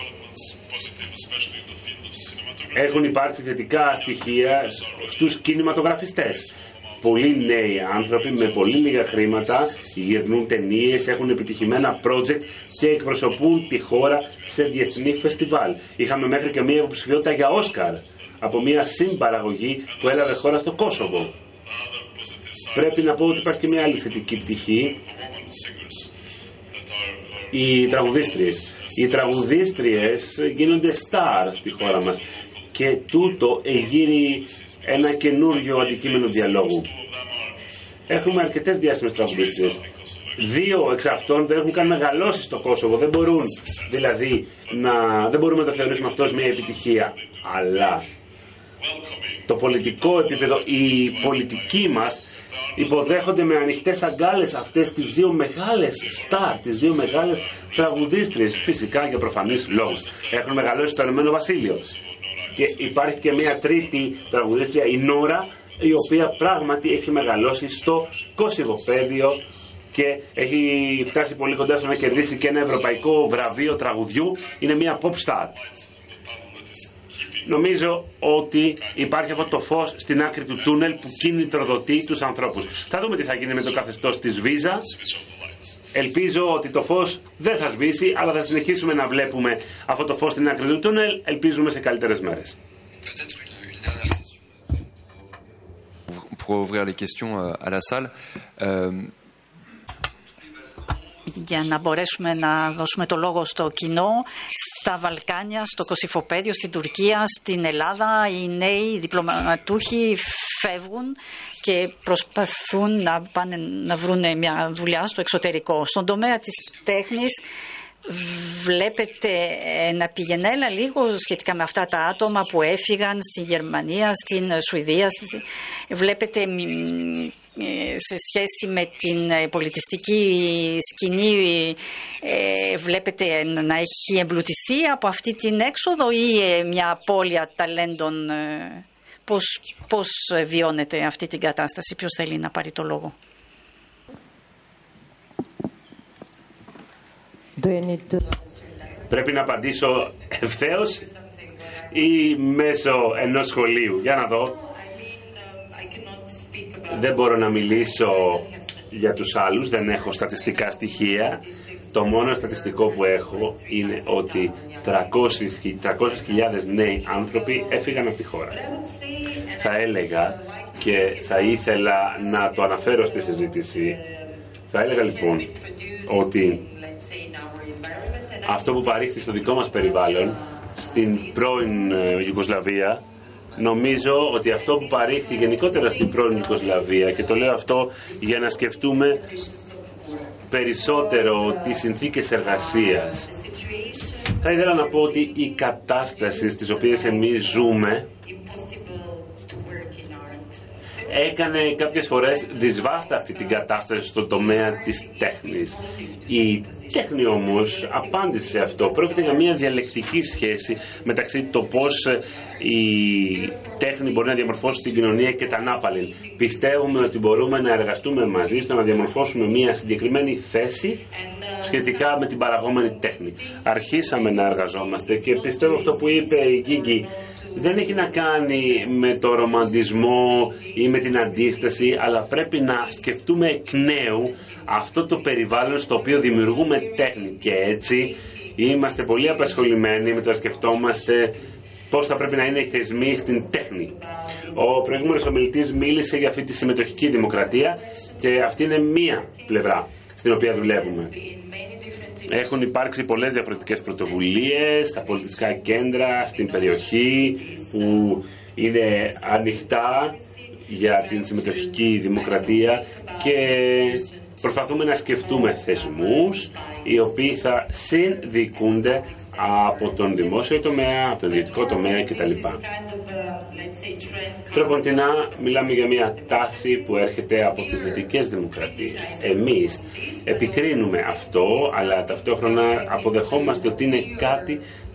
έχουν υπάρξει θετικά στοιχεία στους κινηματογραφιστές. Πολλοί νέοι άνθρωποι με πολύ λίγα χρήματα γυρνούν ταινίες, έχουν επιτυχημένα project και εκπροσωπούν τη χώρα σε διεθνή φεστιβάλ. Είχαμε μέχρι και μία υποψηφιότητα για Όσκαρ από μία συμπαραγωγή που έλαβε χώρα στο Κόσοβο. Πρέπει να πω ότι υπάρχει και μία άλλη θετική πτυχή. Οι τραγουδίστριες. Οι τραγουδίστριες γίνονται στάρ στη χώρα μας και τούτο εγείρει ένα καινούργιο αντικείμενο διαλόγου. Έχουμε αρκετές διάσημες τραγουδίστριες. 2 εξ αυτών δεν έχουν καν μεγαλώσει στο Κόσοβο. Δεν μπορούν, δηλαδή, δεν μπορούμε να το θεωρήσουμε αυτό ως μια επιτυχία. Αλλά το πολιτικό επίπεδο, οι πολιτικοί μας υποδέχονται με ανοιχτές αγκάλες αυτές τις 2 μεγάλες στάρ, τις 2 μεγάλες τραγουδίστριες, φυσικά για προφανείς λόγους. Έχουν μεγαλώσει στο Ηνωμένο Βασίλειο. Και υπάρχει και μια τρίτη τραγουδίστρια, η Νόρα, η οποία πράγματι έχει μεγαλώσει στο Κωσυβοπαίδιο και έχει φτάσει πολύ κοντά στο να κερδίσει και ένα ευρωπαϊκό βραβείο τραγουδιού. Είναι μια pop star. Νομίζω ότι υπάρχει αυτό το φως στην άκρη του τούνελ που κινητροδοτεί τους ανθρώπους. Θα δούμε τι θα γίνει με το καθεστώς της Βίζα. Ελπίζω ότι το φως δεν θα σβήσει, αλλά θα συνεχίσουμε να βλέπουμε αυτό το φως στην άκρη του τούνελ. Ελπίζουμε σε καλύτερες μέρες. Pour ouvrir les questions à la salle. Για να μπορέσουμε να δώσουμε το λόγο στο κοινό, στα Βαλκάνια, στο Κωσυφοπαίδιο, στην Τουρκία, στην Ελλάδα, οι νέοι διπλωματούχοι φεύγουν και προσπαθούν να πάνε να βρουν μια δουλειά στο εξωτερικό. Στον τομέα της τέχνης βλέπετε να πηγαινέλα λίγο σχετικά με αυτά τα άτομα που έφυγαν στη Γερμανία, στην Σουηδία. Βλέπετε σε σχέση με την πολιτιστική σκηνή, βλέπετε να έχει εμπλουτιστεί από αυτή την έξοδο ή μια απώλεια ταλέντων? Πώς βιώνετε αυτή την κατάσταση? Ποιος θέλει να πάρει το λόγο? Πρέπει να απαντήσω ευθέως ή μέσω ενός σχολείου? Για να δω. Δεν μπορώ να μιλήσω για τους άλλους, δεν έχω στατιστικά στοιχεία. Το μόνο στατιστικό που έχω είναι ότι 300.000 νέοι άνθρωποι έφυγαν από τη χώρα. Θα έλεγα και θα ήθελα να το αναφέρω στη συζήτηση. Θα έλεγα λοιπόν ότι αυτό που παρήχθη στο δικό μας περιβάλλον, στην πρώην Ιουγκοσλαβία, νομίζω ότι αυτό που παρήχθη γενικότερα στην πρώην Ιουγκοσλαβία, και το λέω αυτό για να σκεφτούμε περισσότερο τις συνθήκες εργασίας. Θα ήθελα να πω ότι η κατάσταση στις οποίες εμείς ζούμε έκανε κάποιες φορές δυσβάσταχτη την κατάσταση στον τομέα της τέχνης. Η τέχνη όμως απάντησε σε αυτό. Πρόκειται για μια διαλεκτική σχέση μεταξύ το πώς η τέχνη μπορεί να διαμορφώσει την κοινωνία και τα ανάπαλιν. Πιστεύουμε ότι μπορούμε να εργαστούμε μαζί στο να διαμορφώσουμε μια συγκεκριμένη θέση σχετικά με την παραγόμενη τέχνη. Αρχίσαμε να εργαζόμαστε και πιστεύω αυτό που είπε η Γκίγκη δεν έχει να κάνει με το ρομαντισμό ή με την αντίσταση, αλλά πρέπει να σκεφτούμε εκ νέου αυτό το περιβάλλον στο οποίο δημιουργούμε τέχνη, και έτσι είμαστε πολύ απασχολημένοι με το να σκεφτόμαστε πώς θα πρέπει να είναι οι θεσμοί στην τέχνη. Ο προηγούμενος ομιλητής μίλησε για αυτή τη συμμετοχική δημοκρατία και αυτή είναι μία πλευρά στην οποία δουλεύουμε. Έχουν υπάρξει πολλές διαφορετικές πρωτοβουλίες στα πολιτιστικά κέντρα, στην περιοχή, που είναι ανοιχτά για την συμμετοχική δημοκρατία και προσπαθούμε να σκεφτούμε θεσμούς οι οποίοι θα συνδικούνται από τον δημόσιο τομέα, από τον ιδιωτικό τομέα κτλ. Τροποντινά μιλάμε για μια τάση που έρχεται από τις δυτικές δημοκρατίες. Εμείς επικρίνουμε αυτό, αλλά ταυτόχρονα αποδεχόμαστε ότι είναι κάτι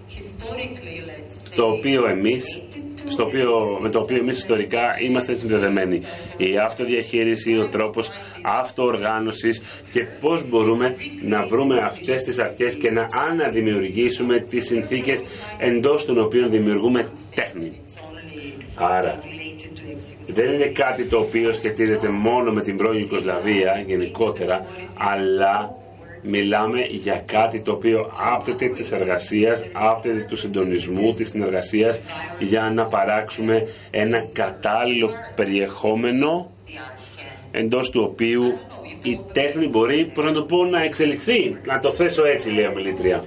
με το οποίο εμείς ιστορικά είμαστε συνδεδεμένοι. Η αυτοδιαχείριση, ο τρόπος αυτοοργάνωσης και πώς μπορούμε να βρούμε αυτές τις αρχές και να αναδημιουργήσουμε τις συνθήκες εντός των οποίων δημιουργούμε τέχνη. Άρα δεν είναι κάτι το οποίο σχετίζεται μόνο με την πρώην Ιουγκοσλαβία γενικότερα, αλλά μιλάμε για κάτι το οποίο άπτεται της εργασίας, άπτεται του συντονισμού, της συνεργασίας, για να παράξουμε ένα κατάλληλο περιεχόμενο εντός του οποίου η τέχνη μπορεί, πώς να το πω, να εξελιχθεί. Να το θέσω έτσι, λέει η ομιλήτρια.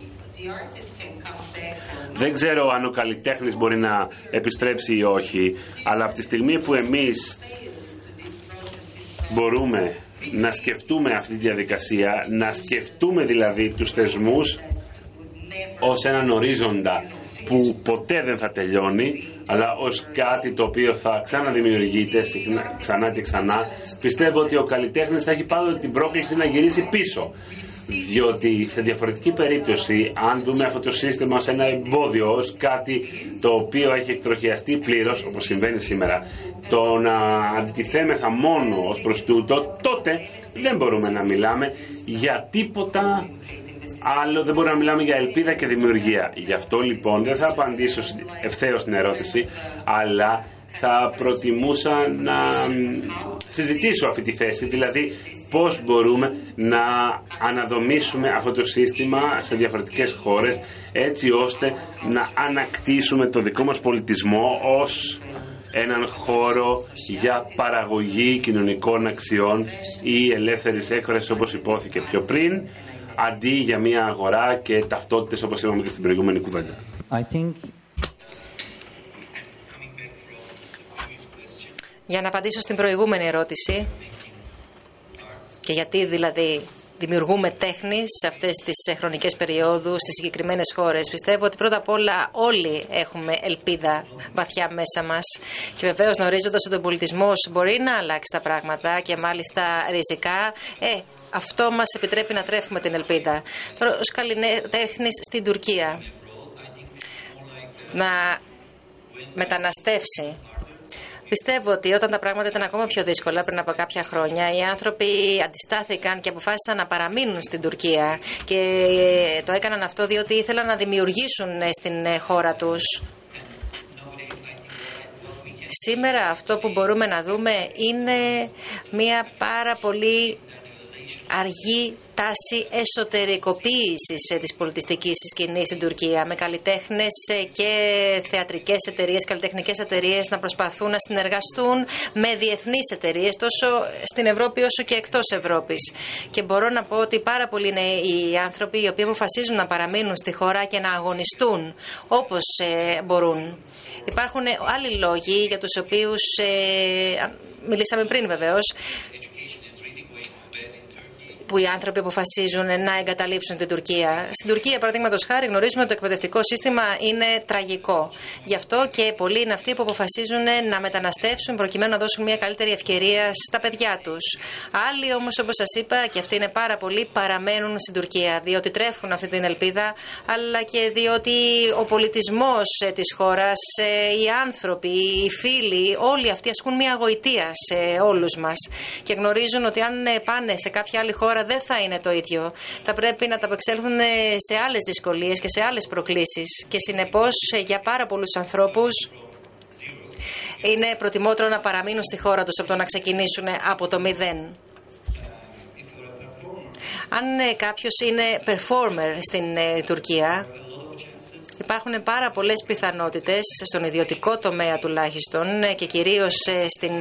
Δεν ξέρω αν ο καλλιτέχνης μπορεί να επιστρέψει ή όχι, αλλά από τη στιγμή που εμείς μπορούμε να σκεφτούμε αυτή τη διαδικασία, να σκεφτούμε δηλαδή τους θεσμούς ως έναν ορίζοντα που ποτέ δεν θα τελειώνει, αλλά ως κάτι το οποίο θα ξαναδημιουργείται ξανά και ξανά. Πιστεύω ότι ο καλλιτέχνης θα έχει πάντοτε την πρόκληση να γυρίσει πίσω, διότι σε διαφορετική περίπτωση, αν δούμε αυτό το σύστημα ως ένα εμπόδιο, ως κάτι το οποίο έχει εκτροχιαστεί πλήρως, όπως συμβαίνει σήμερα, το να αντιτιθέμεθα μόνο ως προς τούτο, τότε δεν μπορούμε να μιλάμε για τίποτα άλλο, δεν μπορούμε να μιλάμε για ελπίδα και δημιουργία. Γι' αυτό λοιπόν δεν θα απαντήσω ευθέως στην ερώτηση, αλλά θα προτιμούσα να συζητήσω αυτή τη θέση, δηλαδή πώς μπορούμε να αναδομήσουμε αυτό το σύστημα σε διαφορετικές χώρες, έτσι ώστε να ανακτήσουμε το δικό μας πολιτισμό ως έναν χώρο για παραγωγή κοινωνικών αξιών ή ελεύθερης έκφρασης, όπως υπόθηκε πιο πριν, αντί για μια αγορά και ταυτότητες, όπως είπαμε και στην προηγούμενη κουβέντα. Για να απαντήσω στην προηγούμενη ερώτηση, και γιατί δηλαδή δημιουργούμε τέχνη σε αυτές τις χρονικές περιόδους, στις συγκεκριμένες χώρες. Πιστεύω ότι πρώτα απ' όλα όλοι έχουμε ελπίδα βαθιά μέσα μας και βεβαίως γνωρίζοντας ότι ο πολιτισμός μπορεί να αλλάξει τα πράγματα και μάλιστα ριζικά, αυτό μας επιτρέπει να τρέφουμε την ελπίδα. Τώρα, ως καλλιτέχνης στην Τουρκία, να μεταναστεύσει. Πιστεύω ότι όταν τα πράγματα ήταν ακόμα πιο δύσκολα πριν από κάποια χρόνια, οι άνθρωποι αντιστάθηκαν και αποφάσισαν να παραμείνουν στην Τουρκία και το έκαναν αυτό διότι ήθελαν να δημιουργήσουν στην χώρα τους. Σήμερα αυτό που μπορούμε να δούμε είναι μια πάρα πολύ αργή τάση εσωτερικοποίησης της πολιτιστικής σκηνής στην Τουρκία, με καλλιτέχνες και θεατρικές εταιρείες, καλλιτεχνικές εταιρείες να προσπαθούν να συνεργαστούν με διεθνείς εταιρείες τόσο στην Ευρώπη όσο και εκτός Ευρώπης. Και μπορώ να πω ότι πάρα πολλοί είναι οι άνθρωποι οι οποίοι αποφασίζουν να παραμείνουν στη χώρα και να αγωνιστούν όπως μπορούν. Υπάρχουν άλλοι λόγοι για τους οποίους μιλήσαμε πριν βεβαίως, που οι άνθρωποι αποφασίζουν να εγκαταλείψουν την Τουρκία. Στην Τουρκία, παραδείγματος χάρη, γνωρίζουμε ότι το εκπαιδευτικό σύστημα είναι τραγικό. Γι' αυτό και πολλοί είναι αυτοί που αποφασίζουν να μεταναστεύσουν προκειμένου να δώσουν μια καλύτερη ευκαιρία στα παιδιά τους. Άλλοι όμως, όπως σας είπα, και αυτοί είναι πάρα πολλοί, παραμένουν στην Τουρκία, διότι τρέφουν αυτή την ελπίδα, αλλά και διότι ο πολιτισμός της χώρας, οι άνθρωποι, οι φίλοι, όλοι αυτοί ασκούν μια γοητεία σε όλους μας και γνωρίζουν ότι αν πάνε σε κάποια άλλη χώρα δεν θα είναι το ίδιο. Θα πρέπει να ταπεξέλθουν σε άλλες δυσκολίες και σε άλλες προκλήσεις. Και συνεπώς για πάρα πολλούς ανθρώπους είναι προτιμότερο να παραμείνουν στη χώρα τους από το να ξεκινήσουν από το μηδέν. Αν κάποιος είναι performer στην Τουρκία, υπάρχουν πάρα πολλές πιθανότητες στον ιδιωτικό τομέα τουλάχιστον και κυρίως στην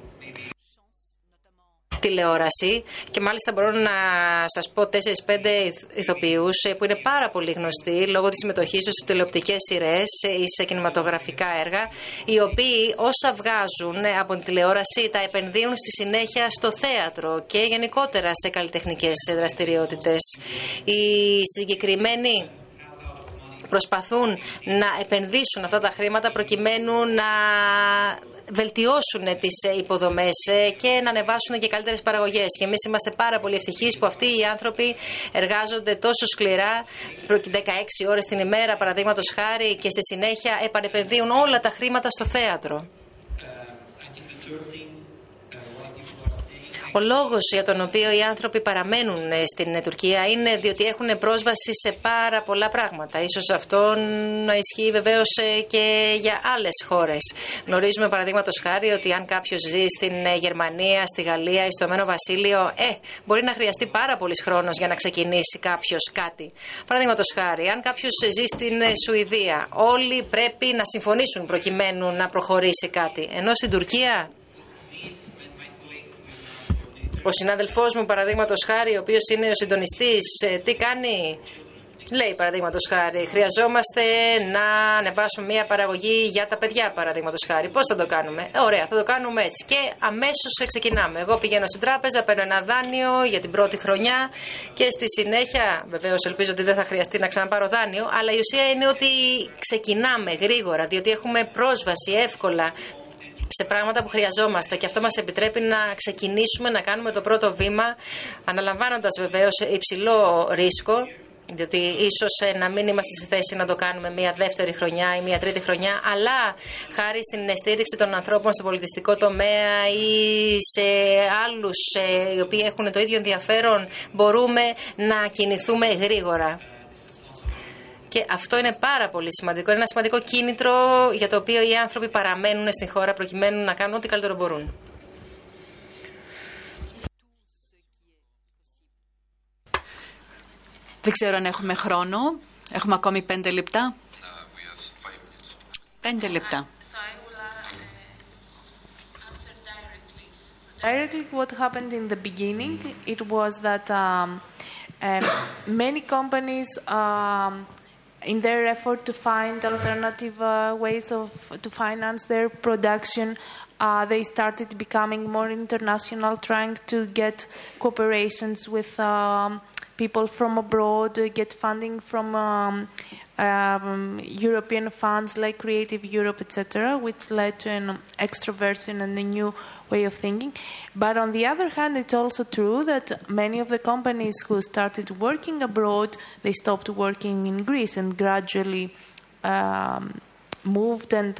τηλεόραση, και μάλιστα μπορώ να σας πω 4-5 ηθοποιούς που είναι πάρα πολύ γνωστοί λόγω της συμμετοχής τους σε τηλεοπτικές σειρές ή σε κινηματογραφικά έργα, οι οποίοι όσα βγάζουν από την τηλεόραση τα επενδύουν στη συνέχεια στο θέατρο και γενικότερα σε καλλιτεχνικές δραστηριότητες. Οι συγκεκριμένοι προσπαθούν να επενδύσουν αυτά τα χρήματα προκειμένου να βελτιώσουν τις υποδομές και να ανεβάσουν και καλύτερες παραγωγές. Και εμείς είμαστε πάρα πολύ ευτυχείς που αυτοί οι άνθρωποι εργάζονται τόσο σκληρά, 16 ώρες την ημέρα παραδείγματος χάρη, και στη συνέχεια επανεπενδύουν όλα τα χρήματα στο θέατρο. Ο λόγος για τον οποίο οι άνθρωποι παραμένουν στην Τουρκία είναι διότι έχουν πρόσβαση σε πάρα πολλά πράγματα. Ίσως αυτό να ισχύει βεβαίως και για άλλες χώρες. Γνωρίζουμε παραδείγματος χάρη ότι αν κάποιος ζει στην Γερμανία, στη Γαλλία ή στο Ηνωμένο Βασίλειο, μπορεί να χρειαστεί πάρα πολύς χρόνος για να ξεκινήσει κάποιος κάτι. Παραδείγματος χάρη, αν κάποιος ζει στην Σουηδία, όλοι πρέπει να συμφωνήσουν προκειμένου να προχωρήσει κάτι. Ενώ στην Τουρκία, ο συνάδελφός μου, παραδείγματος χάρη, ο οποίος είναι ο συντονιστής, τι κάνει? Λέει, παραδείγματος χάρη, χρειαζόμαστε να ανεβάσουμε μια παραγωγή για τα παιδιά, παραδείγματος χάρη. Πώς θα το κάνουμε? Ωραία, θα το κάνουμε έτσι. Και αμέσως ξεκινάμε. Εγώ πηγαίνω στην τράπεζα, παίρνω ένα δάνειο για την πρώτη χρονιά και στη συνέχεια, βεβαίως ελπίζω ότι δεν θα χρειαστεί να ξαναπάρω δάνειο, αλλά η ουσία είναι ότι ξεκινάμε γρήγορα, διότι έχουμε πρόσβαση εύκολα σε πράγματα που χρειαζόμαστε και αυτό μας επιτρέπει να ξεκινήσουμε να κάνουμε το πρώτο βήμα, αναλαμβάνοντας βεβαίως υψηλό ρίσκο, διότι ίσως να μην είμαστε στη θέση να το κάνουμε μια δεύτερη χρονιά ή μια τρίτη χρονιά, αλλά χάρη στην στήριξη των ανθρώπων στο πολιτιστικό τομέα ή σε άλλους οι οποίοι έχουν το ίδιο ενδιαφέρον, μπορούμε να κινηθούμε γρήγορα. Και αυτό είναι πάρα πολύ σημαντικό. Είναι ένα σημαντικό κίνητρο για το οποίο οι άνθρωποι παραμένουν στην χώρα προκειμένου να κάνουν ό,τι καλύτερο μπορούν. Δεν ξέρω αν έχουμε χρόνο. Έχουμε ακόμη 5 λεπτά. 5 λεπτά. Directly, what happened in the beginning, it was that many companies, in their effort to find alternative ways to finance their production, they started becoming more international, trying to get cooperations with people from abroad, get funding from European funds like Creative Europe, etc., which led to an extroversion and a new way of thinking. But on the other hand, it's also true that many of the companies who started working abroad, they stopped working in Greece and gradually moved and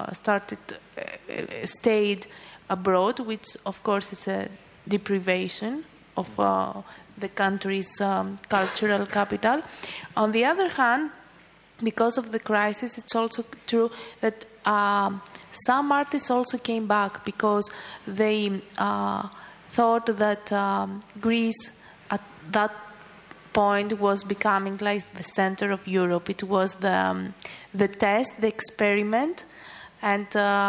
stayed abroad, which of course is a deprivation of the country's cultural capital. On the other hand, because of the crisis, it's also true that some artists also came back because they thought that Greece at that point was becoming like the center of Europe. It was the test, the experiment, and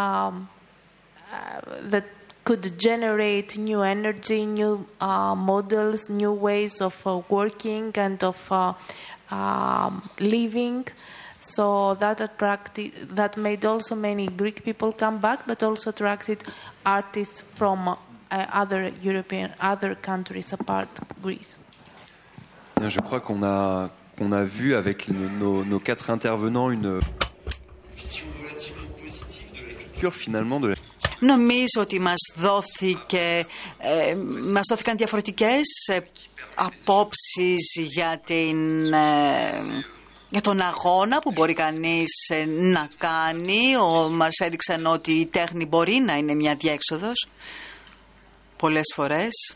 that could generate new energy, new models, new ways of working and of living. So that made also many Greek people come back, but also attracted artists from other countries apart Greece. Je crois qu'on a vu avec nos 4 intervenants une vision relativement positive de la culture finalement de la. Νομίζω ότι μας δόθηκαν διαφορετικές απόψεις για τον αγώνα που μπορεί κανείς να κάνει. Μας έδειξαν ότι η τέχνη μπορεί να είναι μια διέξοδος πολλές φορές.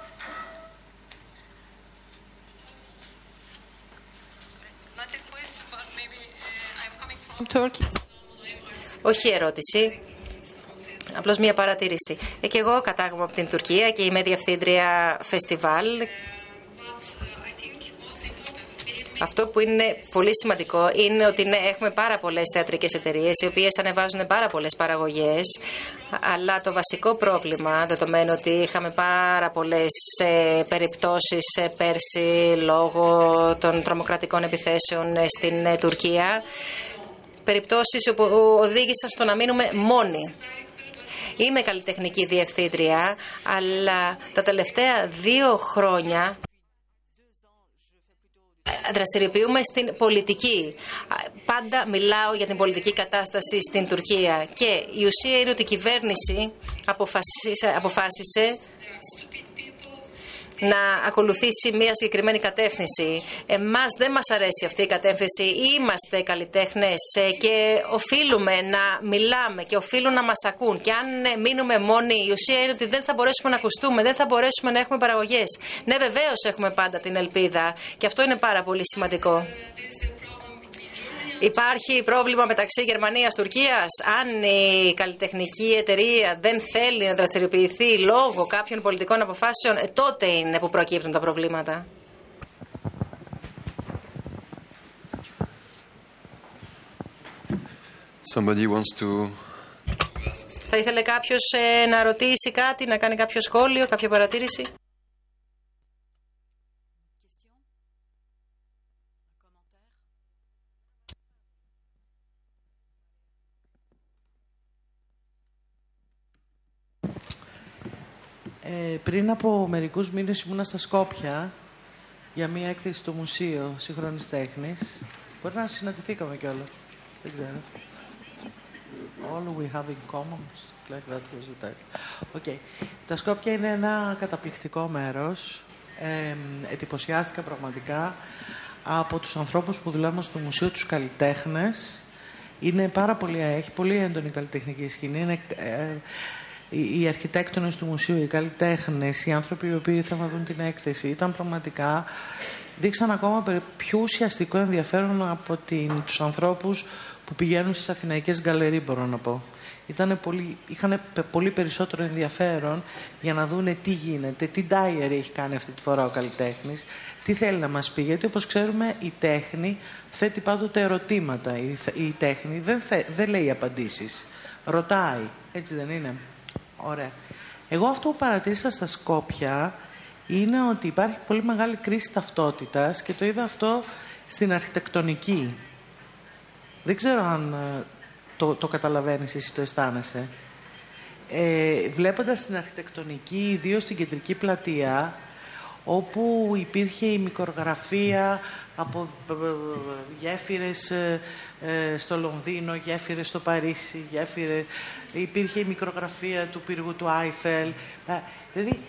Όχι ερώτηση. Απλώς μια παρατήρηση. Και εγώ κατάγομαι από την Τουρκία και είμαι διευθύντρια φεστιβάλ. Αυτό που είναι πολύ σημαντικό είναι ότι έχουμε πάρα πολλές θεατρικές εταιρείες οι οποίες ανεβάζουν πάρα πολλές παραγωγές, αλλά το βασικό πρόβλημα, δεδομένου ότι είχαμε πάρα πολλές περιπτώσεις πέρσι λόγω των τρομοκρατικών επιθέσεων στην Τουρκία, περιπτώσεις που οδήγησαν στο να μείνουμε μόνοι. Είμαι καλλιτεχνική διευθύντρια, αλλά τα τελευταία 2 χρόνια δραστηριοποιούμε στην πολιτική. Πάντα μιλάω για την πολιτική κατάσταση στην Τουρκία και η ουσία είναι ότι η κυβέρνηση αποφάσισε να ακολουθήσει μια συγκεκριμένη κατεύθυνση. Εμάς δεν μας αρέσει αυτή η κατεύθυνση. Είμαστε καλλιτέχνες και οφείλουμε να μιλάμε και οφείλουν να μας ακούν. Και αν μείνουμε μόνοι, η ουσία είναι ότι δεν θα μπορέσουμε να ακουστούμε, δεν θα μπορέσουμε να έχουμε παραγωγές. Ναι, βεβαίως έχουμε πάντα την ελπίδα και αυτό είναι πάρα πολύ σημαντικό. Υπάρχει πρόβλημα μεταξύ Γερμανίας-Τουρκίας. Αν η καλλιτεχνική εταιρεία δεν θέλει να δραστηριοποιηθεί λόγω κάποιων πολιτικών αποφάσεων, τότε είναι που προκύπτουν τα προβλήματα. Θα ήθελε κάποιος να ρωτήσει κάτι, να κάνει κάποιο σχόλιο, κάποια παρατήρηση? Πριν από μερικούς μήνες ήμουνα στα Σκόπια για μία έκθεση στο Μουσείο Σύγχρονης Τέχνης. Μπορεί να συναντηθήκαμε κιόλας. Δεν ξέρω. All we have in common, like that was the title. Okay. Τα Σκόπια είναι ένα καταπληκτικό μέρος. Εντυπωσιάστηκα πραγματικά από τους ανθρώπους που δουλεύουν στο Μουσείο, τους καλλιτέχνες. Έχει πολύ έντονη καλλιτεχνική σκηνή. Είναι, οι αρχιτέκτονες του μουσείου, οι καλλιτέχνες, οι άνθρωποι οι οποίοι ήθελαν να δουν την έκθεση, ήταν πραγματικά, δείξαν ακόμα πιο ουσιαστικό ενδιαφέρον από τους ανθρώπους που πηγαίνουν στις αθηναϊκές γκαλερί, μπορώ να πω. Είχαν πολύ περισσότερο ενδιαφέρον για να δούνε τι γίνεται, τι diary έχει κάνει αυτή τη φορά ο καλλιτέχνης, τι θέλει να μας πει. Γιατί όπως ξέρουμε η τέχνη θέτει πάντοτε ερωτήματα. Η τέχνη δεν λέει απαντήσεις. Ρωτάει. Έτσι δεν είναι? Ωραία. Εγώ αυτό που παρατήρησα στα Σκόπια είναι ότι υπάρχει πολύ μεγάλη κρίση ταυτότητας και το είδα αυτό στην αρχιτεκτονική. Δεν ξέρω αν το καταλαβαίνεις εσύ, το αισθάνεσαι. Βλέποντας την αρχιτεκτονική, ιδίως στην κεντρική πλατεία, όπου υπήρχε η μικρογραφία από γέφυρες στο Λονδίνο, γέφυρες στο Παρίσι, υπήρχε η μικρογραφία του πύργου του Άιφελ. Δηλαδή,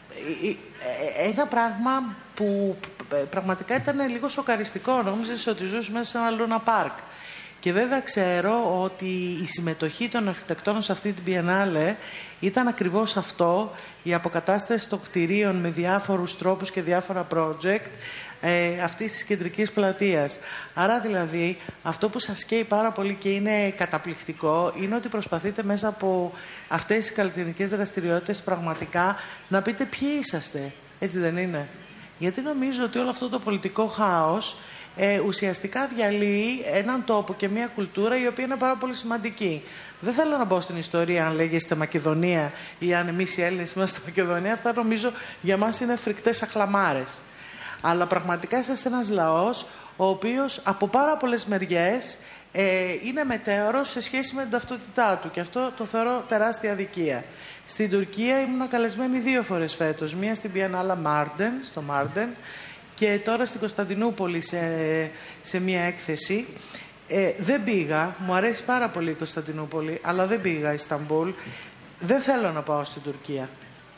ένα πράγμα που πραγματικά ήταν λίγο σοκαριστικό. Νόμιζες ότι ζούσες μέσα σε ένα Λούνα Πάρκ. Και βέβαια ξέρω ότι η συμμετοχή των αρχιτεκτών σε αυτή την Biennale ήταν ακριβώς αυτό, η αποκατάσταση των κτηρίων με διάφορους τρόπους και διάφορα project αυτής της κεντρικής πλατείας. Άρα δηλαδή αυτό που σας καίει πάρα πολύ και είναι καταπληκτικό είναι ότι προσπαθείτε μέσα από αυτές τις καλλιτεχνικές δραστηριότητες πραγματικά να πείτε ποιοι είσαστε. Έτσι δεν είναι? Γιατί νομίζω ότι όλο αυτό το πολιτικό χάος ουσιαστικά διαλύει έναν τόπο και μια κουλτούρα η οποία είναι πάρα πολύ σημαντική. Δεν θέλω να μπω στην ιστορία αν λέγεστε Μακεδονία ή αν εμείς οι Έλληνες είμαστε Μακεδονία. Αυτά νομίζω για μας είναι φρικτές αχλαμάρες. Αλλά πραγματικά είσαστε ένας λαός ο οποίος από πάρα πολλές μεριές είναι μετέωρος σε σχέση με την ταυτότητά του και αυτό το θεωρώ τεράστια αδικία. Στην Τουρκία ήμουν καλεσμένη 2 φορές φέτος. Μία στην Biennale Mardin, στο Mardin, και τώρα στην Κωνσταντινούπολη σε μία έκθεση. Δεν πήγα, μου αρέσει πάρα πολύ η Κωνσταντινούπολη, αλλά δεν πήγα Ισταμπούλ. Δεν θέλω να πάω στην Τουρκία.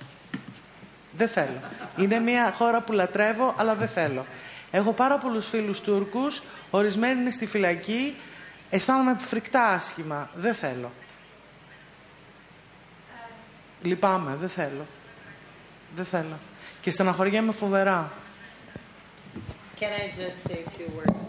Δεν θέλω. Είναι μια χώρα που λατρεύω, αλλά δεν θέλω. Έχω πάρα πολλούς φίλους Τούρκους, ορισμένοι είναι στη φυλακή, αισθάνομαι φρικτά άσχημα. Δεν θέλω. Λυπάμαι, δεν θέλω. Δεν θέλω. Και στεναχωριέμαι φοβερά. Can I just say a few words?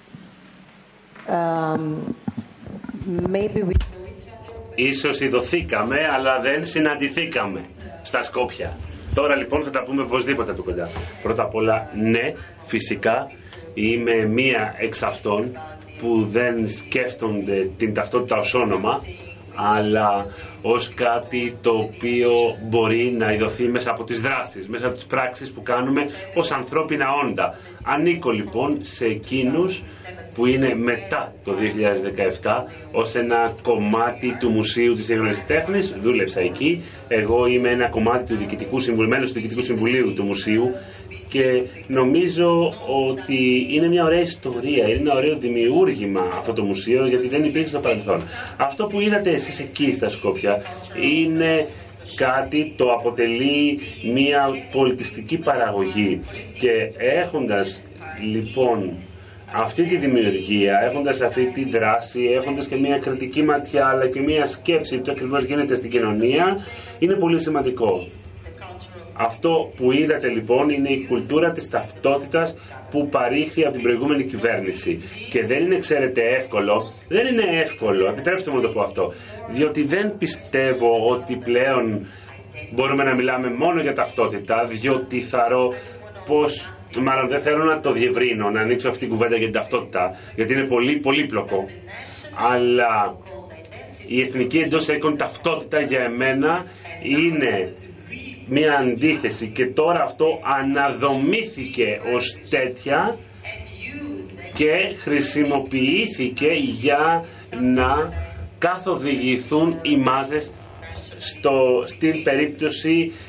Maybe we... Ίσως ειδωθήκαμε, αλλά δεν συναντηθήκαμε στα Σκόπια. Τώρα λοιπόν θα τα πούμε οπωσδήποτε από κοντά. Πρώτα απ' όλα, ναι, φυσικά είμαι μία εξ αυτών που δεν σκέφτονται την ταυτότητα ως όνομα, αλλά ως κάτι το οποίο μπορεί να ειδωθεί μέσα από τις δράσεις, μέσα από τις πράξεις που κάνουμε ως ανθρώπινα όντα. Ανήκω λοιπόν σε εκείνους που είναι μετά το 2017 ως ένα κομμάτι του Μουσείου της Σύγχρονης Τέχνης. Δούλεψα εκεί. Εγώ είμαι ένα κομμάτι του Διοικητικού Συμβουλίου, μέλος του Διοικητικού Συμβουλίου του Μουσείου και νομίζω ότι είναι μια ωραία ιστορία, είναι ένα ωραίο δημιούργημα αυτό το μουσείο, γιατί δεν υπήρχε στο παρελθόν. Αυτό που είδατε εσείς εκεί στα Σκόπια είναι κάτι το αποτελεί μια πολιτιστική παραγωγή και έχοντας λοιπόν αυτή τη δημιουργία, έχοντας αυτή τη δράση, έχοντας και μια κριτική ματιά αλλά και μια σκέψη του ακριβώς γίνεται στην κοινωνία, είναι πολύ σημαντικό. Αυτό που είδατε λοιπόν είναι η κουλτούρα της ταυτότητας που παρήχθη από την προηγούμενη κυβέρνηση. Και δεν είναι, ξέρετε, εύκολο. Δεν είναι εύκολο, επιτρέψτε μου να το πω αυτό. Διότι δεν πιστεύω ότι πλέον μπορούμε να μιλάμε μόνο για ταυτότητα, διότι θαρώ πως, μάλλον δεν θέλω να το διευρύνω, να ανοίξω αυτή την κουβέντα για την ταυτότητα, γιατί είναι πολύ πολύπλοκο. Αλλά η εθνική εντός είκων ταυτότητα για εμένα είναι μια αντίθεση και τώρα αυτό αναδομήθηκε ως τέτοια και χρησιμοποιήθηκε για να καθοδηγηθούν οι μάζες στην περίπτωση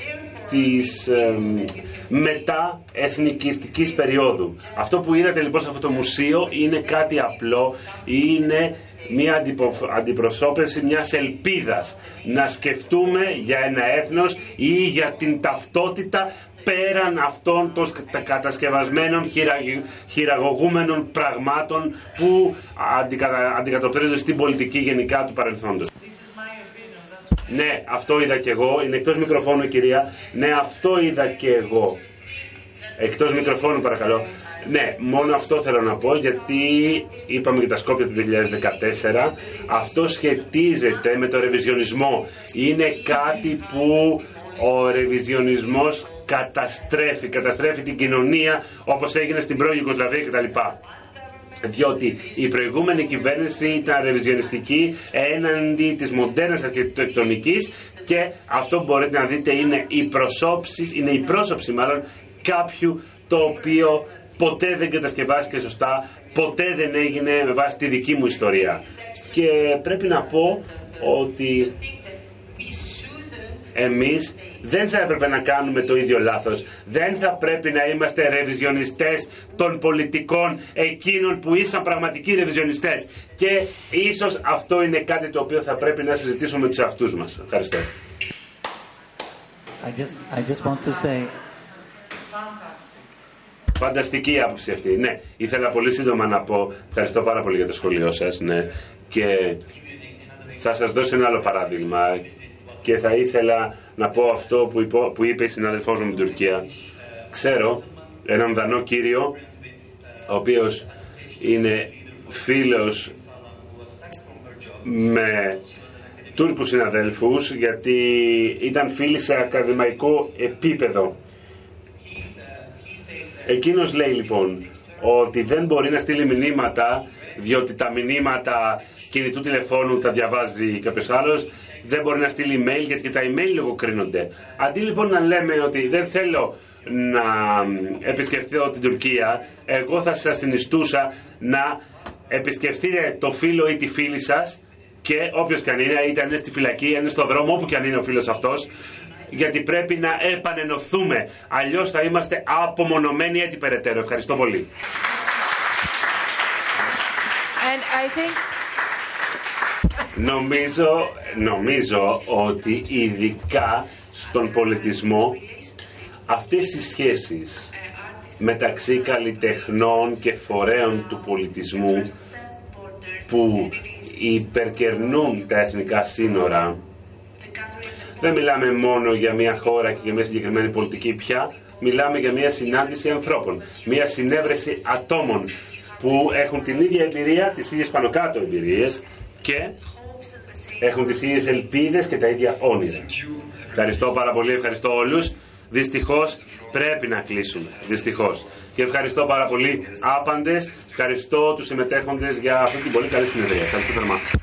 της μεταεθνικιστικής περίοδου. Αυτό που είδατε λοιπόν σε αυτό το μουσείο είναι κάτι απλό, είναι μια αντιπροσώπευση μιας ελπίδας να σκεφτούμε για ένα έθνος ή για την ταυτότητα πέραν αυτών των κατασκευασμένων χειραγωγούμενων πραγμάτων που αντικατοπτρίζονται στην πολιτική γενικά του παρελθόντος. Ναι, αυτό είδα και εγώ. Είναι εκτός μικροφώνου, κυρία. Ναι, αυτό είδα και εγώ. Εκτός μικροφώνου, παρακαλώ. Ναι, μόνο αυτό θέλω να πω, γιατί είπαμε για τα Σκόπια του 2014. Αυτό σχετίζεται με το ρεβιζιονισμό. Είναι κάτι που ο ρεβιζιονισμός καταστρέφει την κοινωνία, όπως έγινε στην πρώην Ιουγκοσλαβία κτλ. Διότι η προηγούμενη κυβέρνηση ήταν ρεβιζιονιστική έναντι της μοντέρνας αρχιτεκτονικής και αυτό που μπορείτε να δείτε είναι η πρόσωψη μάλλον κάποιου το οποίο ποτέ δεν κατασκευάστηκε σωστά, ποτέ δεν έγινε με βάση τη δική μου ιστορία. Και πρέπει να πω ότι εμείς δεν θα έπρεπε να κάνουμε το ίδιο λάθος. Δεν θα πρέπει να είμαστε ρεβιζιονιστές των πολιτικών εκείνων που ήσαν πραγματικοί ρεβιζιονιστές. Και ίσως αυτό είναι κάτι το οποίο θα πρέπει να συζητήσουμε με τους εαυτούς μας. Ευχαριστώ. I just want to say... Φανταστική άποψη αυτή. Ναι, ήθελα πολύ σύντομα να πω ευχαριστώ πάρα πολύ για το σχολείο σας. Ναι. Και θα σας δώσω ένα άλλο παράδειγμα. Και θα ήθελα να πω αυτό που είπε η συνάδελφός μου με την Τουρκία. Ξέρω έναν Δανό κύριο, ο οποίος είναι φίλος με Τούρκους συναδέλφους, γιατί ήταν φίλοι σε ακαδημαϊκό επίπεδο. Εκείνος λέει λοιπόν ότι δεν μπορεί να στείλει μηνύματα, διότι τα μηνύματα κινητού τηλεφώνου τα διαβάζει κάποιος άλλος, δεν μπορεί να στείλει email γιατί και τα email λογοκρίνονται. Αντί λοιπόν να λέμε ότι δεν θέλω να επισκεφθώ την Τουρκία, εγώ θα σας συνιστούσα να επισκεφθείτε το φίλο ή τη φίλη σας, και όποιος και αν είναι, είτε αν είναι στη φυλακή, αν είναι στο δρόμο, όπου και αν είναι ο φίλος αυτός, γιατί πρέπει να επανενωθούμε, αλλιώς θα είμαστε απομονωμένοι έτσι περαιτέρω. Ευχαριστώ πολύ. And I think... Νομίζω ότι ειδικά στον πολιτισμό αυτές οι σχέσεις μεταξύ καλλιτεχνών και φορέων του πολιτισμού που υπερκερνούν τα εθνικά σύνορα, δεν μιλάμε μόνο για μια χώρα και για μια συγκεκριμένη πολιτική πια, μιλάμε για μια συνάντηση ανθρώπων, μια συνέβρεση ατόμων που έχουν την ίδια εμπειρία, τις ίδιες πάνω κάτω εμπειρίες και έχουν τις ίδιες ελπίδες και τα ίδια όνειρα. Ευχαριστώ πάρα πολύ, ευχαριστώ όλους. Δυστυχώς πρέπει να κλείσουμε, δυστυχώς. Και ευχαριστώ πάρα πολύ άπαντες, ευχαριστώ τους συμμετέχοντες για αυτή την πολύ καλή συνεδρία. Ευχαριστώ θερμά.